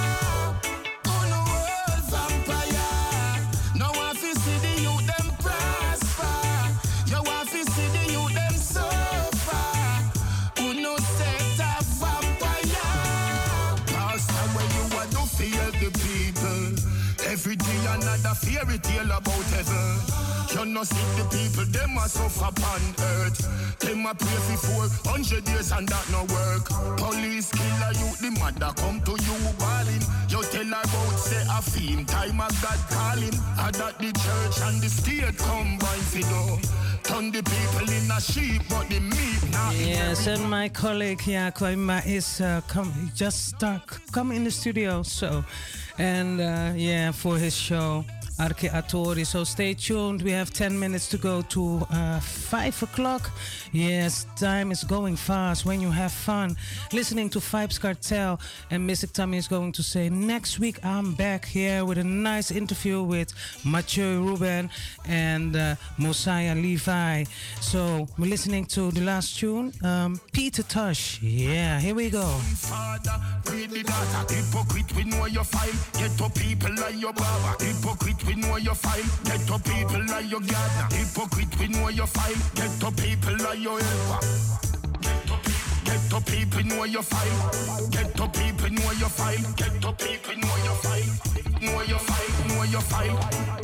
Who no world vampire? Now I feel see the youth them prosper. You want to see the youth them suffer. Who no set a vampire? Pastor, when you want to fear the people, every day another fairy tale about heaven. You no see the people, them a suffer upon earth. Them a pray for four hundred years and that no work. Police killer you, the mother come to you balling. You tell her about say a theme, time of God calling. And that the church and the state combine for do. Turn the people in a sheep, but the meat not. Yes, and my colleague, yeah, Kwaima is uh, come, he just start, come in the studio, so, and uh, yeah, for his show. Arke Atori. So stay tuned. We have ten minutes to go to uh, five o'clock. Yes, time is going fast when you have fun. Listening to Vybz Kartel. And Mystic Tommy is going to say, next week I'm back here with a nice interview with Mathieu Ruben and uh, Mosiah Levi. So we're listening to the last tune, um, Peter Tosh. Yeah, here we go. Father, read the data. Hypocrite, we know your file. Get to people like your baba. Hypocrite, we know your file. Get to people like your gardener. Hypocrite, we know your file. Get to people like your helper. Get to people, know your file. Get to people, know your file. Get to people, know your file. Know your file, know your file.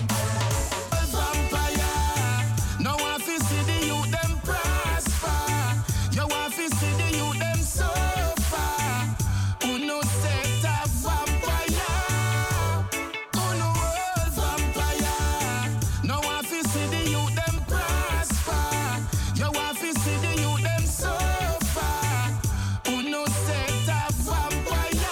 Vampire, now I feel see the youth them prosper. You want to see the youth them suffer. Who no set a vampire? Who no world vampire? Now I feel see the youth them prosper. You want to see the youth them suffer. Who no set a vampire?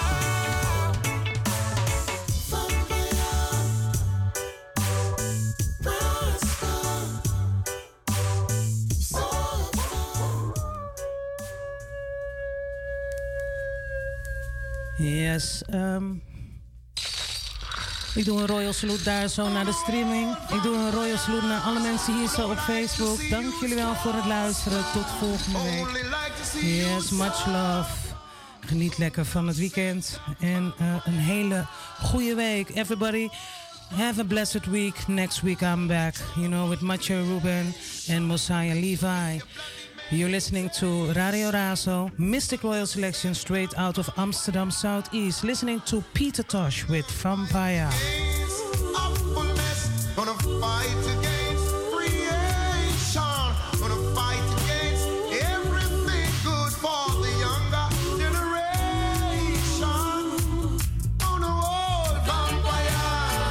Yes, um, ik doe een royal salute daar zo naar de streaming. Ik doe een royal salute naar alle mensen hier zo op Facebook. Dank jullie wel voor het luisteren. Tot volgende week. Yes, much love. Geniet lekker van het weekend. En uh, een hele goede week. Everybody, have a blessed week. Next week I'm back, you know, with Mathieu Ruben and Mosiah Levi. You're listening to Radio Razo, Mystic Royal Selection straight out of Amsterdam Southeast. Listening to Peter Tosh with Vampire. Gonna fight against creation. Gonna fight against everything good for the younger generation. On the world, vampire.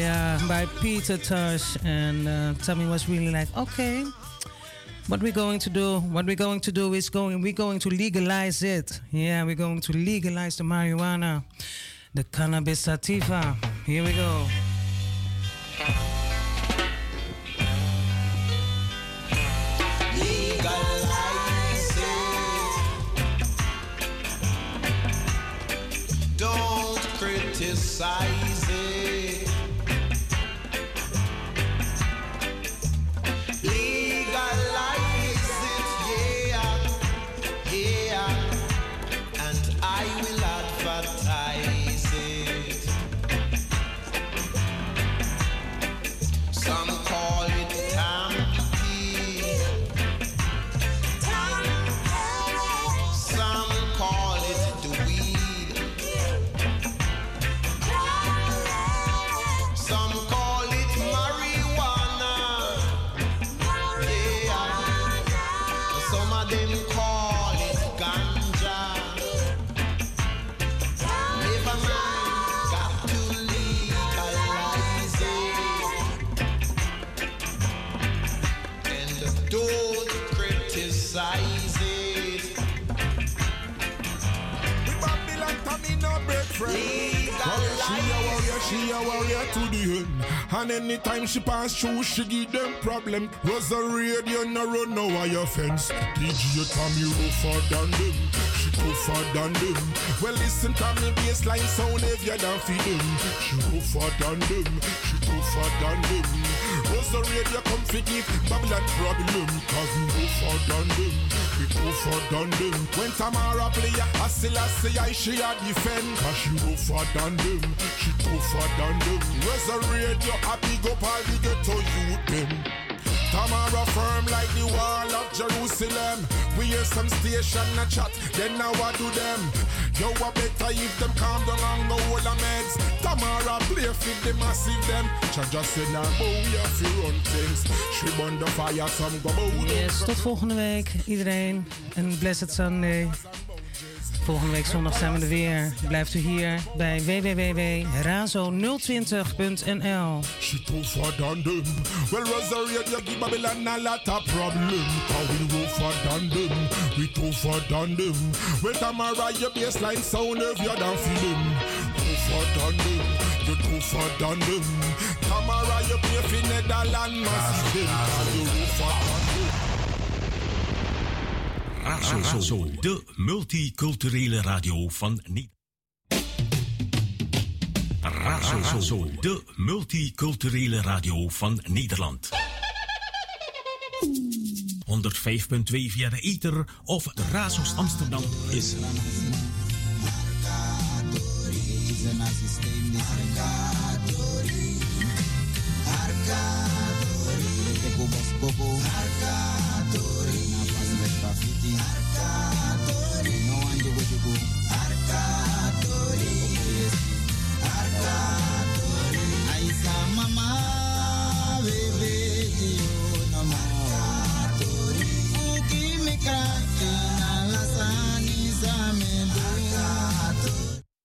yeah, by Peter Tosh. And uh, Tommy was really like, okay, what we're going to do, what we're going to do is going, we're going to legalize it. Yeah, we're going to legalize the marijuana, the cannabis sativa. Here we go. Legalize it. Don't criticize it. Legalize it, yeah, yeah. And I will advertise it. Some call it Tampi. Some call it the weed. Some call it marijuana. Yeah. Some of them call it ganja. Never mind, got to legalize it. And don't criticize it. Babylon Tommy no break friend. She a warrior, she a warrior to the end. And anytime she pass through, she give them problem. Was a radio no run no wire fence. D J Tommy rougher than them. She tougher than them. Well listen to me bassline sound heavier than for them. She rougher than them. She tougher than them. Was a radio come fi give Babylon problem. Cause we rougher than them. We tougher than them. When Tamara play a still a say I she a defend. Cause she rougher than them. She tougher than them. Was a radio a big up all the ghetto youth them. Tamara firm like the wall of Jerusalem. We hear some station a chat, then now what do them? Yo, I better if them calm down and go all the meds. Tamara play fit the massive them. Chaja said now bow you fi run things. She burn the fire, some go bow. Yes, tot volgende week iedereen. En blessed Sunday. Volgende week zondag zijn we er weer. Blijft u hier bij w w w punt razo nul twintig punt n l. She tougher than them. Well, Rosario, you give Babylon a lot of problem. Cause we rougher than them. We tougher than them. Well, Tamara, your bassline sound heavier than film. Tougher than them. You tougher than them. Tamara, you play for Netherlands, massive them. Cause you rougher than them. Razo, Razo, de multiculturele radio van Nederland. Razo, de multiculturele radio van Nederland. honderdvijf punt twee via de ether of de Razo's Amsterdam. Is Arcatori, no ando with you go. Arcatori.